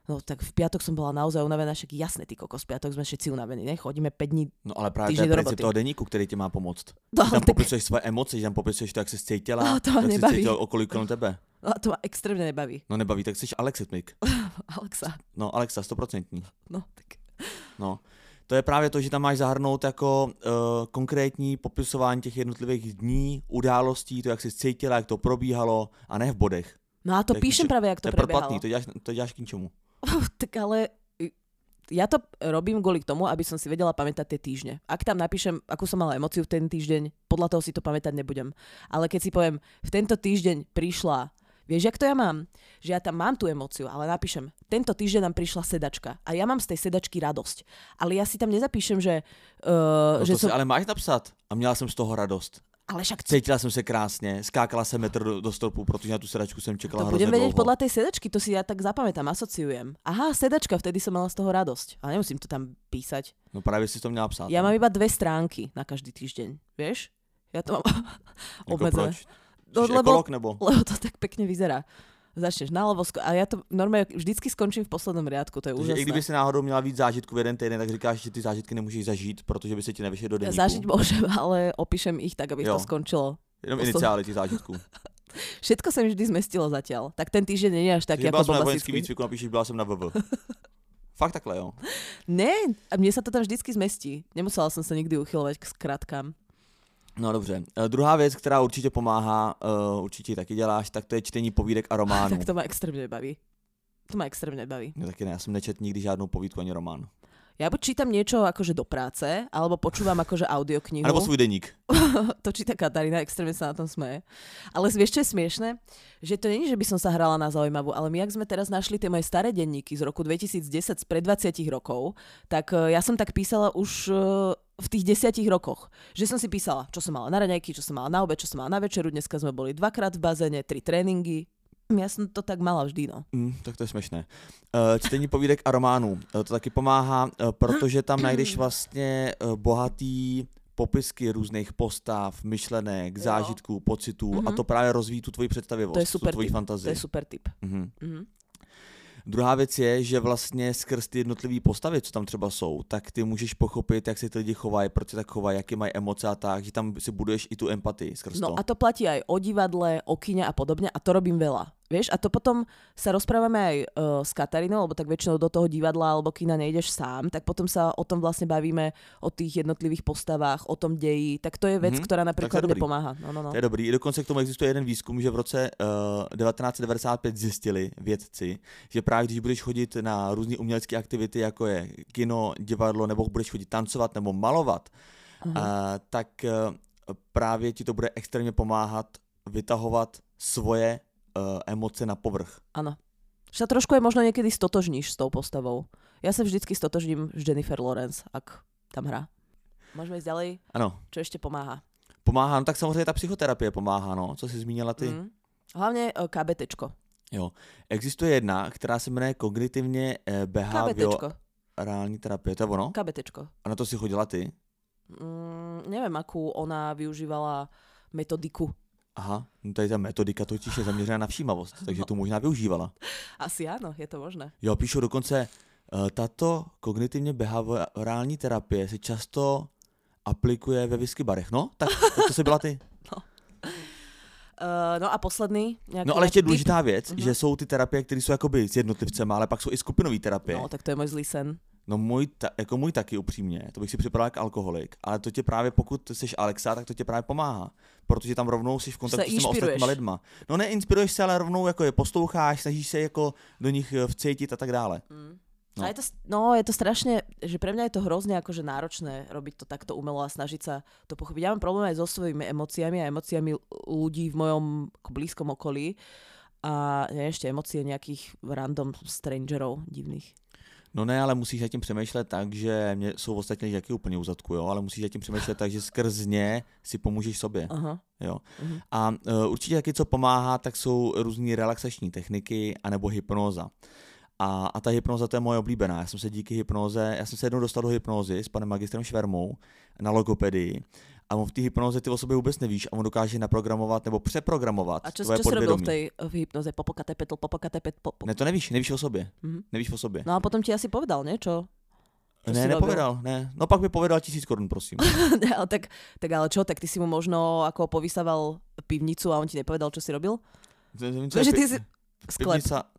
No tak v piatok som bola naozaj unavená, však jasne, ty kokos, v piatok sme všetci unavení, ne? Chodíme 5 dní. No ale právě to je princip toho deníku, který ti má pomoct. No, tam tak... popisuješ svoje emoce, tam popisuješ to, jak se cítila, no, to jak nebaví. se cítila okolí kolem tebe. No to ma extrémne nebaví. No nebaví, tak jsi Alexitmik. Alexa. No Alexa, 100%. No tak. No. To je právě to, že tam máš zahrnout jako konkrétní popisování těch jednotlivých dní, událostí, to, jak jsi cítila, jak to probíhalo, a ne v bodech. No a to píšem práve, jak to prebiehalo. To je proplatný, to děláš k ničomu. Tak ale ja to robím kvôli tomu, aby som si vedela pamätať tie týždne. Ak tam napíšem, akú som mala emóciu v ten týždeň, podľa toho si to pamätať nebudem. Ale keď si poviem, v tento týždeň prišla, vieš, jak to ja mám? Že ja tam mám tú emóciu, ale napíšem, tento týždeň nám prišla sedačka a ja mám z tej sedačky radosť. Ale ja si tam nezapíšem, že... No že to som... si ale máš napsat a měla jsem z toho radost. Ale však... Cítila jsem se krásně, skákala jsem metr do stolpu, protože na tu sedačku jsem čekala to hrozně budem vedieť dlouho. podľa tej sedačky, to si ja tak zapamätám, asociujem. Aha, sedačka, vtedy som mala z toho radosť. Ale nemusím to tam písať. No právě si to měla psát. Ja mám iba 2 stránky na každý týždeň, vieš? Ja to mám obmedzené. Jako proč? Ekolog nebo? Lebo to tak pekne vyzerá. Začneš naľavo a ja to normálne vždycky skončím v poslednom riadku, to je úžasné. I kdyby si náhodou měla víc zážitků v jeden týden, tak říkáš, že ty zážitky nemůžeš zažít, protože by se ti nevyšly do deníku. Zažiť môžem, ale opíšem ich tak, aby to skončilo. Jenom iniciály tých zážitků. Všetko sa mi vždy zmestilo zatiaľ. Tak ten týždeň nie je až taký ako bombasický. Byla som na vojenský výcviku, napíšeš, byla som na VV. Fakt takhle, jo? Ne, a mne sa to tam vždycky zmestí. Nemusela som sa nikdy uchylovať k skratkám. No dobře. Druhá věc, která určitě pomáhá, určitě taky děláš, tak to je čtení povídek a románů. Tak to ma extrémne baví. No taky ne, já jsem nečet nikdy žádnou povídku ani román. Ja buď čítam niečo akože do práce, alebo počúvam akože audioknihu. Alebo svůj deník. To číta Katarína, extrémne sa na tom smeje. Ale vieš, čo je smiešné? Že to nie je, že by som sa hrala na zaujímavú, ale my, ak sme teraz našli tie moje staré denníky z roku 2010, spred 20 rokov, tak ja som tak písala už v tých 10 rokoch. Že som si písala, čo som mala na raňajky, čo som mala na obed, čo som mala na večeru. Dneska sme boli 2-krát v bazéne, 3 tréningy. Ja som to tak mala vždy, no. Tak to je směšné. Čtení povídek a románů. To taky pomáhá, protože tam najdeš vlastně bohatý popisky různých postav, myšlenek, zážitků, pocitů a to právě rozvíjí tu tvoji představivost, tu tvoji fantazii. To je super tip. Druhá věc je, že vlastně skrz ty jednotlivé postavy, co tam třeba jsou, tak ty můžeš pochopit, jak se ty lidi chovají, proč se tak chovají, jaké mají emoce a tak, že tam si buduješ i tu empatii skrz to. No a to platí aj o divadle, o kine a podobne a to robím veľa. Vieš, a to potom sa rozprávame aj s Katarínou, lebo tak väčšinou do toho divadla alebo kina nejdeš sám, tak potom sa o tom vlastne bavíme, o tých jednotlivých postavách, o tom deji, tak to je vec, ktorá napríklad mne pomáha. No. To je dobrý. Dokonce k tomu existuje jeden výzkum, že v roce 1995 zjistili vědci, že právě když budeš chodit na různé umělecké aktivity, jako je kino, divadlo, nebo budeš chodit tancovat nebo malovat, tak právě ti to bude extrémně pomáhat vytahovat svoje emoce na povrch. Áno. Že sa trošku aj možno niekedy stotožníš s tou postavou. Ja sa vždycky stotožním s Jennifer Lawrence, ak tam hrá. Môžeme ísť ďalej? Ano. Čo ešte pomáha? Pomáhá, no tak samozřejmě ta psychoterapie pomáhá, no. Co jsi zmínila ty? Hlavne KBTčko. Jo. Existuje jedna, která se jmenuje kognitivně behaviorální terapie. To je ono? KBTčko. A na to si chodila ty? Neviem, akú ona využívala metodiku. Aha, no tady ta metodika totiž je zaměřená na všímavost, takže to možná využívala. Asi áno, je to možné. Jo, píšu dokonce, tato kognitivně behaviorální terapie se často aplikuje ve whisky barech. No, tak to si byla ty. No a posledný. No ale ještě důležitá věc, že jsou ty terapie, které jsou jakoby s jednotlivcema, ale pak jsou i skupinové terapie. No, tak to je můj zlý sen. No můj taky upřímně, to bych si připadal jako alkoholik, ale to tě právě, pokud jsi Alexa, tak to tě právě pomáhá, protože tam rovnou jsi v kontaktu s těma ostatníma lidma. No neinspiruješ se, ale rovnou jako je posloucháš, snažíš se jako do nich vcítit a tak dále. No. Je to strašne, že pre mňa je to hrozne akože náročné robiť to takto umelo a snažiť sa to pochopiť. Ja mám problém aj so svojimi emóciami a emóciami ľudí v mojom blízkom okolí a ešte emócie nejakých random strangerov divných. No ne, ale musíš zatím přemýšlet tak, že mě jsou ostatně taky úplně u zadku, jo, ale musíš zatím přemýšlet tak, že skrz ně si pomůžeš sobě. Aha. Jo. A určitě taky, co pomáhá, tak jsou různé relaxační techniky anebo hypnóza. A ta hypnóza, to je moje oblíbená. Já jsem se jednou dostal do hypnózy s panem magistrem Švermou na logopedii a on v té hypnoze ty o sobě vůbec nevíš a on dokáže naprogramovat nebo přeprogramovat tvoje čo podvědomí. A čo si robil v hypnoze? Popokatepetl. Ne, to nevíš o sobě. Nevíš o sobě. No a potom ti asi povedal, ne? Čo ne, nepovedal, ne. No pak by povedal 1000 korun, prosím. tak ale čo? Tak ty si mu možno ako povysával pivnicu a on ti nepovedal, čo si robil? Že ty si... Sklep.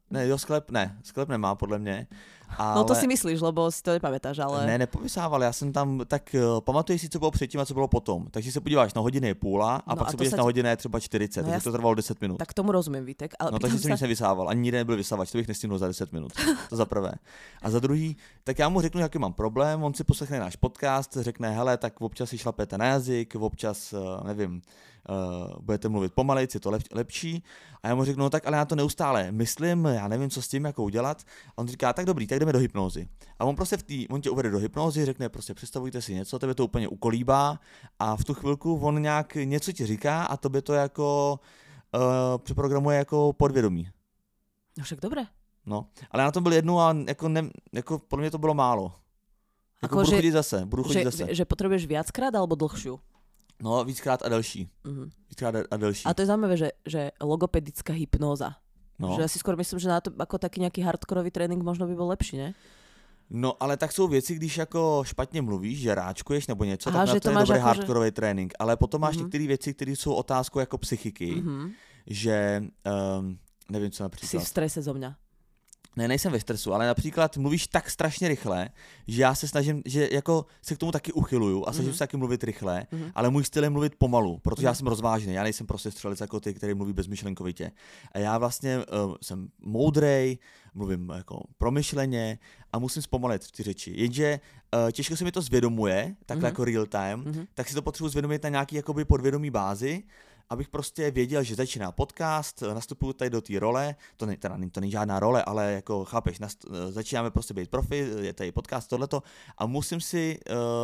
Sklep nemá podle mě. Ale... No to si myslíš, lebo si to nepamätáš, ale... Ne, nepovysával, já jsem tam, tak pamatuješ si, co bylo předtím a co bylo potom. Takže se podíváš na hodiny je půla a pak se podíváš na hodiny je třeba 40, takže to trvalo 10 minut. Tak tomu rozumím, Vítek. Ale no takže jsem nic nevysával, ani nikde nebyl vysavač, to bych nestihnul za 10 minut, to za prvé. A za druhý, tak já mu řeknu, jaký mám problém, on si poslechne náš podcast, řekne, hele, tak občas si šlapete na jazyk, občas, nevím, budete mluvit pomalejc, je to lepší. A já mu řeknu, no tak ale já to neustále myslím, já nevím, co s tím, jako udělat. A on říká, tak dobrý, tak jdeme do hypnózy. A on prostě on tě uvede do hypnózy, řekne prostě představujte si něco, tebe to úplně ukolíbá a v tu chvilku on nějak něco ti říká a tobě to jako přeprogramuje jako podvědomí. No však dobré. No, ale já na tom byl jednou a jako pro mě to bylo málo. Jako budu chodit zase. Že potřebuješ viackrát alebo dlhšiu? No, víckrát a delší. Víckrát a delší. A to je zaujímavé, že logopedická hypnóza. No. Že ja si skoro myslím, že na to ako taký nejaký hardkorový trénink možno by bol lepší, ne? No, ale tak jsou věci, když jako špatně mluvíš, že ráčkuješ nebo něco, tak na to je dobrý hardkorový trénink. Ale potom máš některé věci, které jsou otázkou jako psychiky, že nevím, co například. Jsi v strese zo mňa. Ne, nejsem ve stresu, ale například mluvíš tak strašně rychle, že já se snažím, že jako se k tomu taky uchyluju a snažím se taky mluvit rychle, ale můj styl je mluvit pomalu, protože já jsem rozvážný, já nejsem prostě střelec jako ty, který mluví bezmyšlenkovitě. A já vlastně jsem moudrej, mluvím jako promyšleně a musím zpomalit ty řeči. Jenže těžko se mi to zvědomuje, takhle jako real time, tak si to potřebuji zvědomit na nějaký jakoby podvědomí bázi, abych prostě věděl, že začíná podcast, nastupuju tady do té role, to není žádná role, ale jako chápeš, začínáme prostě být profi, je tady podcast, tohleto a musím si,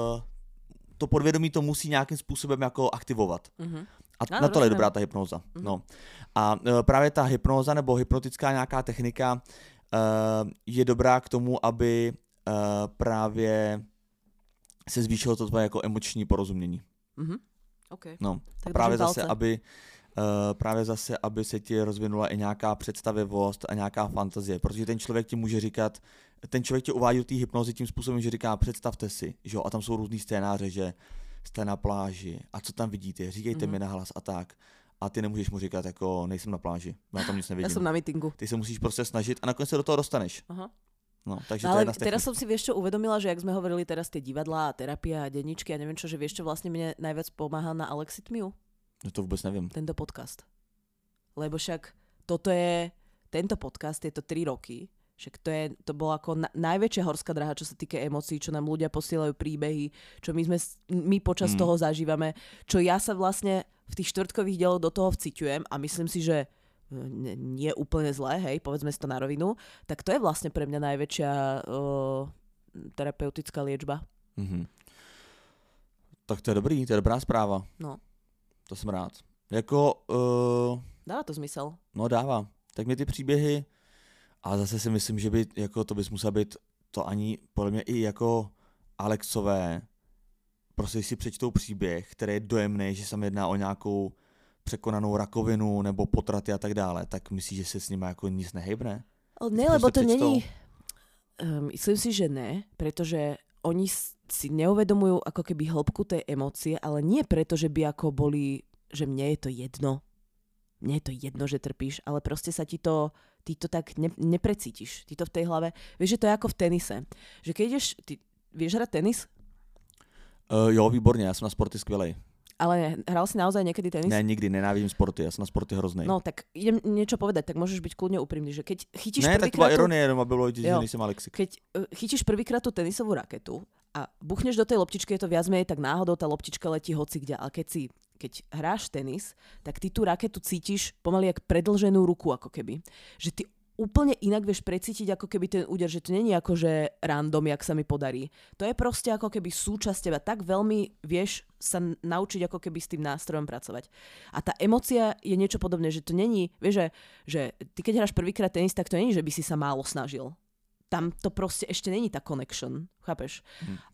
to podvědomí to musí nějakým způsobem jako aktivovat. A na to je dobrá ta hypnóza. No. A právě ta hypnóza nebo hypnotická nějaká technika je dobrá k tomu, aby právě se zvýšilo to tvoje jako emoční porozumění. Okay. No, a právě zase, aby se ti rozvinula i nějaká představivost a nějaká fantazie, protože ten člověk ti může říkat, ten člověk tě uvádí do té hypnozy tím způsobem, že říká, představte si, že jo, a tam jsou různý scénáře, že jste na pláži a co tam vidíte, říkejte mi nahlas a tak. A ty nemůžeš mu říkat, jako nejsem na pláži, já tam nic nevidím. Já jsem na meetingu. Ty se musíš prostě snažit a nakonec se do toho dostaneš. Aha. No, takže ale to je teraz som si vieš čo uvedomila, že jak sme hovorili teraz tie divadlá a terapia a denníčky a neviem čo, že vieš čo vlastne mne najviac pomáha na Alexitmiu? No to vôbec neviem. Tento podcast. Lebo však tento podcast je to 3 roky, však to bola ako najväčšia horská dráha, čo sa týka emócií, čo nám ľudia posielajú príbehy, čo my počas toho zažívame, čo ja sa vlastne v tých štvrtkových dieloch do toho vciťujem a myslím si, že nie úplne zlé, hej, povedzme si to na rovinu, tak to je vlastne pre mňa najväčšia terapeutická liečba. Tak to je dobrý, to je dobrá správa. No. To jsem rád. Jako... Dává to zmysel. No dává. Tak mě ty příběhy, a zase si myslím, že by, jako to bys musel být, to ani podle mě i jako Alexové, prostě si přečtou příběh, který je dojemný, že se jedná o nějakou překonanou rakovinu nebo potraty a tak dále, tak myslíš, že se s nimi jako nic nehybne? Ne, lebo to není... Myslím si, že ne, pretože oni si neuvedomujú ako keby hĺbku tej emócie, ale nie preto, že by ako boli, že mne je to jedno. Mne je to jedno, že trpíš, ale proste sa ty to tak neprecítiš. Ty to v tej hlave... Vieš, že to je ako v tenise. Že keď ideš... Ty vieš hrať tenis? Jo, výborně, já jsem na sporty skvělej. Ale hral si naozaj niekedy tenis? Ne, nikdy, nenávidím sporty, ja som na sporty hroznej. No, tak idem niečo povedať, tak môžeš byť kľudne úprimný, že keď chytíš prvýkrát... Ne, tak to bola ironie, jenom aby bolo vidieť, že nejsem Alexik. Keď chytíš prvýkrát tú tenisovú raketu a buchneš do tej loptičky, je to viac menej, tak náhodou tá loptička letí hocikde, ale keď hráš tenis, tak ty tú raketu cítiš pomaly jak predĺženú ruku, ako keby. Že ty úplne inak vieš precítiť ako keby ten úder, že to není ako že random, jak sa mi podarí. To je proste ako keby súčasť teba. Tak veľmi vieš sa naučiť ako keby s tým nástrojom pracovať. A tá emócia je niečo podobné, že to není, vieš, že ty keď hráš prvýkrát tenis, tak to není, že by si sa málo snažil. tam to proste ešte není tá connection, chápeš?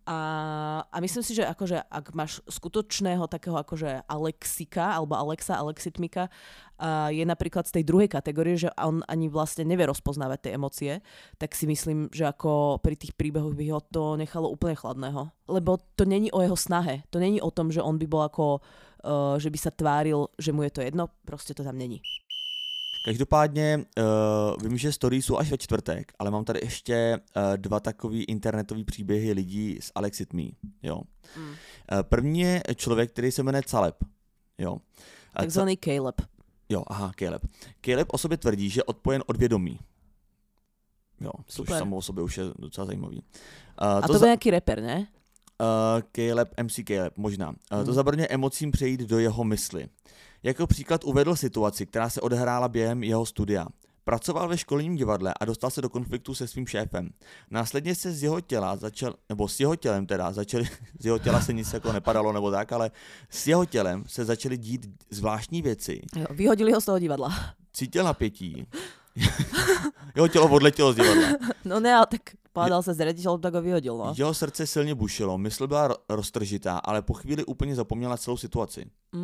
A myslím si, že akože ak máš skutočného takého akože Alexika alebo Alexitmika, je napríklad z tej druhej kategórie, že on ani vlastne nevie rozpoznávať tie emócie, tak si myslím, že ako pri tých príbehoch by ho to nechalo úplne chladného. Lebo to není o jeho snahe. To není o tom, že on by bol ako, že by sa tváril, že mu je to jedno. Proste to tam není. Každopádně vím, že story jsou až ve čtvrtek, ale mám tady ještě dva takový internetový příběhy lidí z Alex It Me. Jo. První je člověk, který se jmenuje Caleb. Jo. Takzvaný Caleb. Jo, aha, Caleb. Caleb o sobě tvrdí, že je odpojen od vědomí. Jo, což samo o sobě už je docela zajímavý. A to byl nějaký rapper, ne? Caleb, MC Caleb, možná. To zabraňuje emocím přejít do jeho mysli. Jako příklad uvedl situaci, která se odehrála během jeho studia. Pracoval ve školním divadle a dostal se do konfliktu se svým šéfem. Následně se z jeho těla s jeho těla se nic jako nepadalo nebo tak, ale s jeho tělem se začaly dít zvláštní věci. Jo, vyhodili ho z toho divadla. Cítil napětí. Jeho tělo odletělo z divadla. No ne, ale tak pádal se s ředitelem, tak ho vyhodil, no. Jeho srdce silně bušilo, mysl byla roztržitá, ale po chvíli úplně zapomněla celou situaci.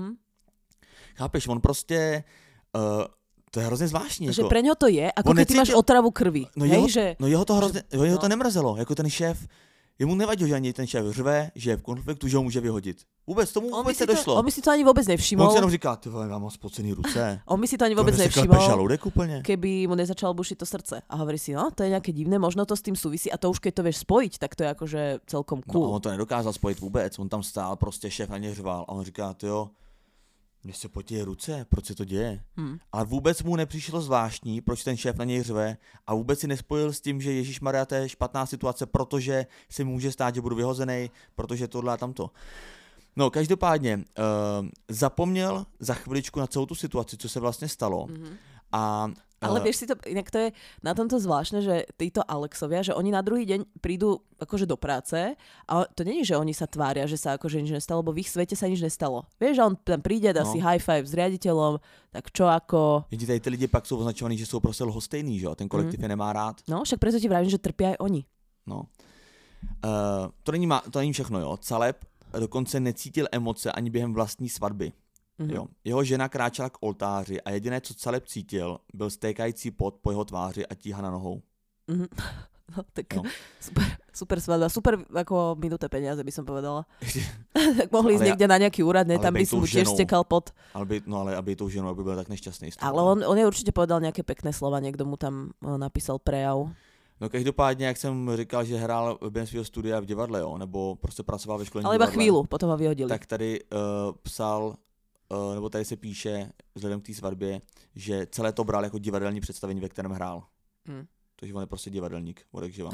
Chápeš, on prostě, to je hrozně zvláštní. Že jako, pre něho to je, jako keď ty máš otravu krvi. No, jeho to nemrzelo, jako ten šéf, jemu nevadilo, že ani ten šéf řve, že je v konfliktu, že ho může vyhodit. Vůbec tomu vůbec nedošlo. On by si to ani vůbec nevšimol. On si jenom říká, ty vole, mám spocený ruce. On by si to ani vůbec nevšimol, keby mu nezačalo bušiť to srdce. A hovorí si, no, to je nějaké divné, možno to s tím souvisí a to už keď to vieš spojiť, tak to je akože celkom cool. No, on to nedokázal spojit vůbec, on tam stál, prostě šéf na něj řval a on říká, tyjo, mně se potějí ruce, proč se to děje? Ale vůbec mu nepřišlo zvláštní, proč ten šéf na něj řve a vůbec si nespojil s tím, že ježišmarja, to je špatná situace, protože se může stát, že budu vyhozený, protože tohle a tamto. No, každopádně zapomněl za chviličku na celou tu situaci, co se vlastně stalo. Ale vieš si to, inak to je na tomto zvláštne, že títo Alexovia, že oni na druhý deň prídu akože do práce a to nie je, že oni sa tvária, že sa akože nič nestalo, lebo v ich svete sa nič nestalo. Vieš, že on tam príde, dá si high five s riaditeľom, tak čo ako... Jenže tady ty lidi pak jsou označovaní, že jsou prostě lhostejný, že jo, ten kolektiv je nemá rád. No, však preto ti vravím, že trpia aj oni. No. To není všechno, jo. Caleb dokonce necítil emoce ani během vlastní svatby. Jo. Jeho žena kráčela k oltáři a jediné, co Caleb cítil, byl stékající pot po jeho tváři a tíha na nohou. No, tak no. Super svadba, super ako minuté peniaze by som povedala. Tak mohli ísť niekde na nejaký úrad, ne, tam by som mu tiež stekal pot. Ale aby tou ženou, aby byl tak nešťastný. Ale on je určite povedal nejaké pekné slova, niekto mu tam napísal prejav. No každopádně, jak jsem říkal, že hrál během svého studia v divadle, jo, nebo prostě pracoval ve školním divadle. Ale iba chvíľu, potom ho vyhodili. Tak tady psal, nebo tady se píše, vzhledem k té svatbě, že celé to bral jako divadelní představení, ve kterém hrál. Takže on je prostě divadelník, odekživa.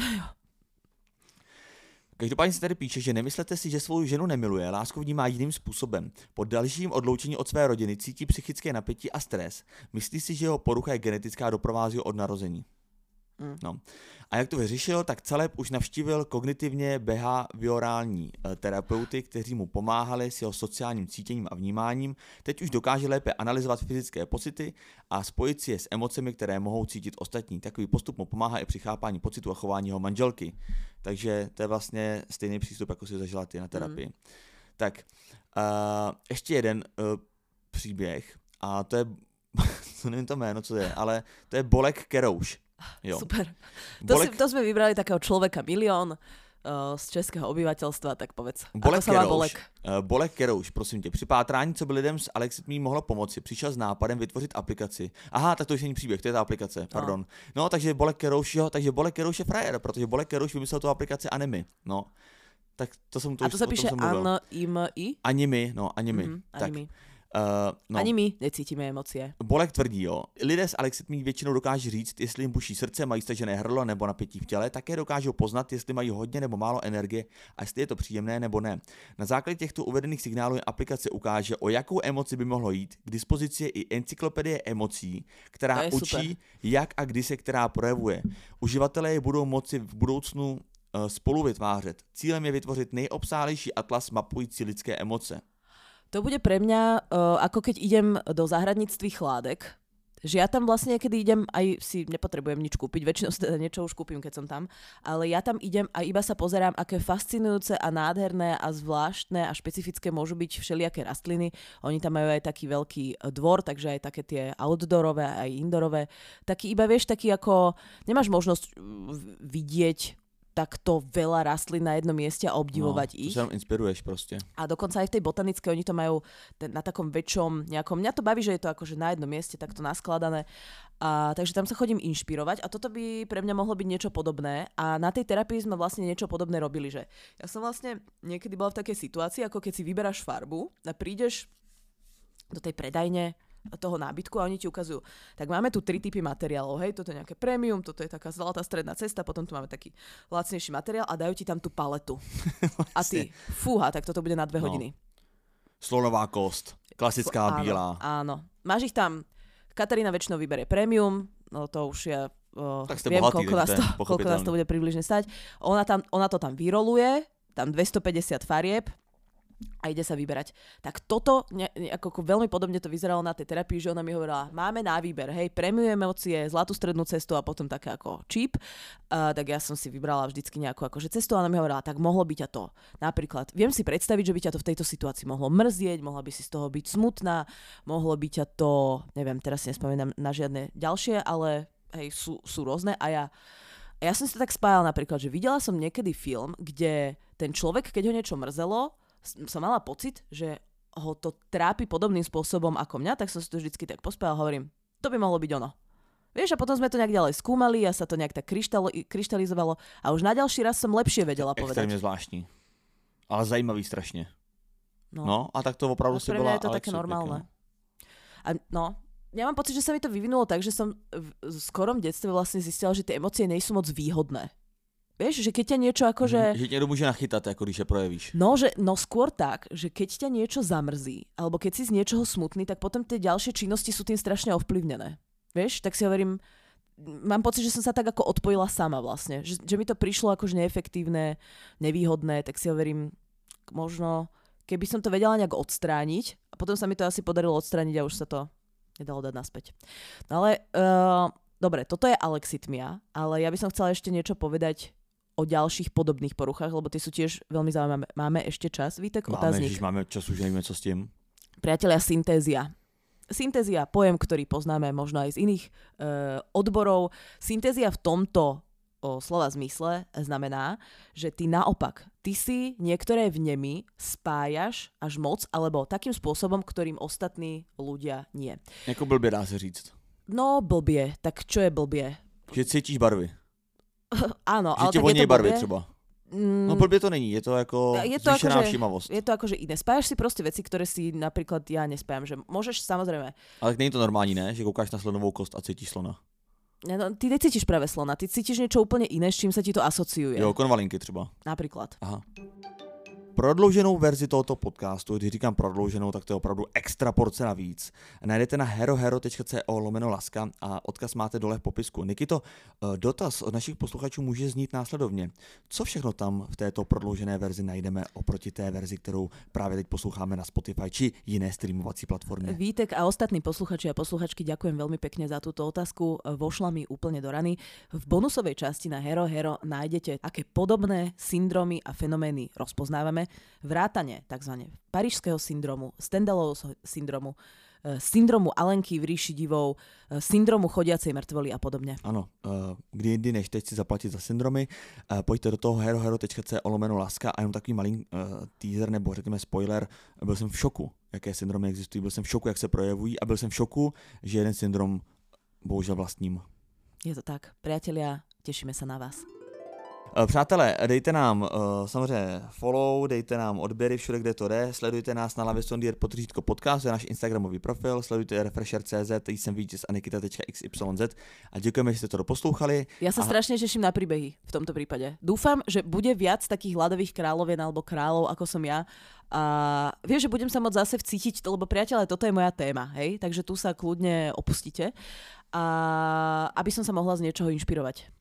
Každopádně se tady píše, že nemyslete si, že svou ženu nemiluje, lásku vnímá jiným způsobem. Po dalším odloučení od své rodiny cítí psychické napětí a stres. Myslí si, že jeho porucha je genetická a doprovází ho od narození. No. A jak to vyřešil, tak Caleb už navštívil kognitivně behaviorální terapeuty, kteří mu pomáhali s jeho sociálním cítěním a vnímáním. Teď už dokáže lépe analyzovat fyzické pocity a spojit si je s emocemi, které mohou cítit ostatní. Takový postup mu pomáhá i při chápání pocitu a chování jeho manželky. Takže to je vlastně stejný přístup, jako si zažila ty na terapii. Tak, ještě jeden příběh a to je, nevím to jméno, co to je, ale to je Bolek Kerouš. Jo. Super. To sme vybrali takého človeka milión z českého obyvateľstva, tak povedz. Bolek Kerouš. Bolek Kerouš, prosím tě. Při pátrání, co by lidem z Alex It Me mohlo pomoci, přišel s nápadem vytvořit aplikaci. Aha, tak to už není příběh, to je ta aplikace, pardon. No, takže Bolek Kerouš, Bolek Kerouš je frajer, protože Bolek Kerouš vymyslel tu aplikaci Animi. No. Tak to jsem tu a to se píše Animi? Animi. Tak. Ani my necítíme emocie. Bolek tvrdí, jo. Lidé z Alex It Me většinou dokáží říct, jestli jim buší srdce, mají stažené hrdlo nebo napětí v těle, také dokážou poznat, jestli mají hodně nebo málo energie a jestli je to příjemné nebo ne. Na základě těchto uvedených signálů aplikace ukáže, o jakou emoci by mohlo jít. K dispozici je i encyklopedie emocí, která učí, jak a kdy se která projevuje. Uživatelé je budou moci v budoucnu spolu vytvářet. Cílem je vytvořit nejobsáhlejší atlas mapující lidské emoce. To bude pre mňa, ako keď idem do záhradníctví chládek, Že ja tam vlastne niekedy idem, aj si nepotrebujem nič kúpiť, väčšinou si teda niečo už kúpim, keď som tam, ale ja tam idem a iba sa pozerám, aké fascinujúce a nádherné a zvláštne a špecifické môžu byť všelijaké rastliny. Oni tam majú aj taký veľký dvor, takže aj také tie outdoorové, aj indoorové. Taký iba vieš, taký ako nemáš možnosť vidieť takto veľa rastlín na jednom mieste a obdivovať ich. To sa inspiruješ proste. A dokonca aj v tej botanickej oni to majú na takom väčšom nejakom... Mňa to baví, že je to akože na jednom mieste takto naskladané. Takže tam sa chodím inšpirovať a toto by pre mňa mohlo byť niečo podobné. A na tej terapii sme vlastne niečo podobné robili, že ja som vlastne niekedy bola v takej situácii, ako keď si vyberáš farbu a prídeš do tej predajne toho nábytku a oni ti ukazujú. Tak máme tu 3 typy materiálov, hej, toto je nejaké premium, toto je taká zlatá stredná cesta, potom tu máme taký lacnejší materiál a dajú ti tam tú paletu. A ty, fúha, tak toto bude na 2 hodiny. Slonová kost, klasická bílá. Áno. Máš ich tam, Katarína väčšinou vyberie premium, no to už ja viem, bohatý, koľko nás to bude približne stať. Ona to tam vyroluje, tam 250 farieb, a ide sa vyberať. Tak toto, ako veľmi podobne to vyzeralo na tej terapii, že ona mi hovorila, máme na výber, hej, premium emócie, zlatú strednú cestu a potom také ako cheap. Tak ja som si vybrala vždycky nejakú akože cestu a ona mi hovorila, tak mohlo by ťa to. Napríklad, viem si predstaviť, že by ťa to v tejto situácii mohlo mrzieť, mohla by si z toho byť smutná, mohlo by ťa to, neviem, teraz si nespomínam na žiadne ďalšie, ale hej, sú rôzne a ja som si to tak spájala napríklad, že videla som niekedy film, kde ten človek, keď ho niečo mrzelo, som mala pocit, že ho to trápi podobným spôsobom ako mňa, tak som si to vždycky tak pospájala a hovorím, to by mohlo byť ono. Vieš, a potom sme to nejak ďalej skúmali a sa to nejak tak kryštalizovalo a už na ďalší raz som lepšie vedela povedať. Extrémne zvláštní. Ale zajímavý strašne. No a tak to opravdu si bola... Pre mňa je to také normálne. A ja mám pocit, že sa mi to vyvinulo tak, že som v skorom detstve vlastne zistila, že tie emócie nie sú moc výhodné. Vieš, že keď ťa niečo akože... Že ťa môže nachytať, ako když sa prejavíš. No skôr tak, že keď ťa niečo zamrzí, alebo keď si z niečoho smutný, tak potom tie ďalšie činnosti sú tým strašne ovplyvnené. Vieš, tak si hovorím, mám pocit, že som sa tak ako odpojila sama vlastne. Že mi to prišlo akože neefektívne, nevýhodné, tak si hovorím, možno keby som to vedela nejak odstrániť, a potom sa mi to asi podarilo odstrániť a už sa to nedalo dať naspäť. No ale, dobre, toto je alexitmia, ale ja by som chcela ešte niečo povedať o ďalších podobných poruchách, lebo tie sú tiež veľmi zaujímavé. Máme ešte čas, Vítek, otáznik? Máme čas, už nevíme, co s tým. Priatelia, syntézia. Syntézia, pojem, ktorý poznáme možno aj z iných odborov. Syntézia v tomto slova zmysle znamená, že ty naopak, ty si niektoré vnemy spájaš až moc, alebo takým spôsobom, ktorým ostatní ľudia nie. Jako blbě dá se říct. No blbě, tak čo je blbě? Že cítíš barvy. Áno, ale tak je to barvy třeba. No blbě to není, je to jako zvýšená všímavost. Je to akože iné. Spájaš si proste veci, ktoré si napríklad ja nespájam, že môžeš samozrejme. Ale není to normální, ne? Že koukáš na slonovou kost a cítíš slona. No, ty necítiš práve slona, ty cítiš niečo úplne iné, s čím sa ti to asociuje. Jo, konvalinky třeba. Napríklad. Aha. Prodlouženou verzi tohoto podcastu, když říkám prodlouženou, tak to je opravdu extra porce navíc. Najdete na herohero.co/laska a odkaz máte dole v popisku. Nikito, dotaz od našich posluchačů může znít následovně. Co všechno tam v této prodloužené verzi najdeme oproti té verzi, kterou právě teď posloucháme na Spotify či jiné streamovací platformě? Vítek a ostatní posluchači a posluchačky, ďakujem veľmi pekne za túto otázku. Vošla mi úplne do rany. V bonusovej časti na Hero nájdete, aké podobné syndromy a fenomény rozpoznávame. Vrátane tzv. Parížského syndromu, Stendalovho syndromu, syndromu Alenky v ríši divov, syndromu chodiacej mŕtvoly a podobne. Ano, kdy jindy než teď si zaplatit za syndromy, pojďte do toho herohero.co/laska a jenom takový malý teaser nebo řekněme spoiler, byl jsem v šoku, jaké syndromy existují, byl jsem v šoku, jak se projevují a byl jsem v šoku, že jeden syndrom bohužel vlastním. Je to tak, priatelia, tešíme sa na vás. Přátelé, dejte nám samozřejmě follow, dejte nám odběry všude, kde to jde, sledujte nás na Lavestondier _ podcast, je náš instagramový profil, sledujte Refresher.cz, tady jsem vítěz a nikita.xyz a děkujeme, že jste to doposlouchali. Ja sa strašne teším na príbehy v tomto prípade. Dúfam, že bude viac takých hladových kráľovien alebo kráľov, ako som ja. A vieš, že budem sa môcť zase vcítiť, lebo priateľe, toto je moja téma, hej? Takže tu sa kľudne opustite, a aby som sa mohla z niečoho inšpirovať.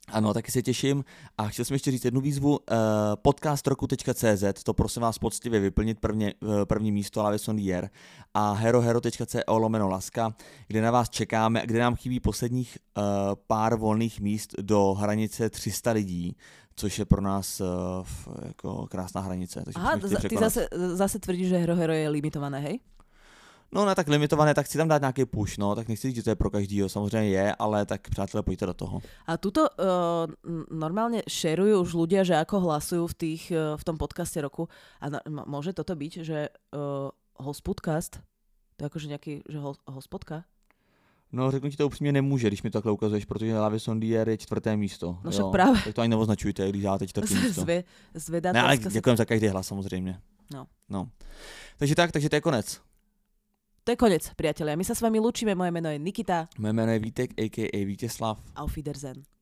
Ano, taky se těším a chtěl jsem ještě říct jednu výzvu, podcastroku.cz, to prosím vás poctivě vyplnit první místo Lavis on the Air a herohero.co/laska, kde na vás čekáme, kde nám chybí posledních pár volných míst do hranice 300 lidí, což je pro nás jako krásná hranice. Takže aha, ty zase tvrdíš, že Hero je limitované, hej? No ne tak limitované, tak chci tam dát nějaký push, no, tak nechci říct, že to je pro každýho, samozřejmě je, ale tak přátelé, pojďte do toho. A tuto normálne šerujú už ľudia, že ako hlasujú v tom podcaste roku a môže toto byť, že hospodcast, to je akože nejaký, že hospodka? No, řeknu ti to upřímně nemůže, když mi to takhle ukazuješ, protože Lavis on the Air je 4. místo. No však právě. Tak to ani neoznačujte, když dáte 4. místo. Ne, ale děkujem za každý hlas samozřejmě. No. Takže to je konec. To je konec, priatelia. My sa s vami lúčime, moje meno je Nikita. Moje meno je Vítek, a.k.a. Vítězslav. Auf Wiedersehen.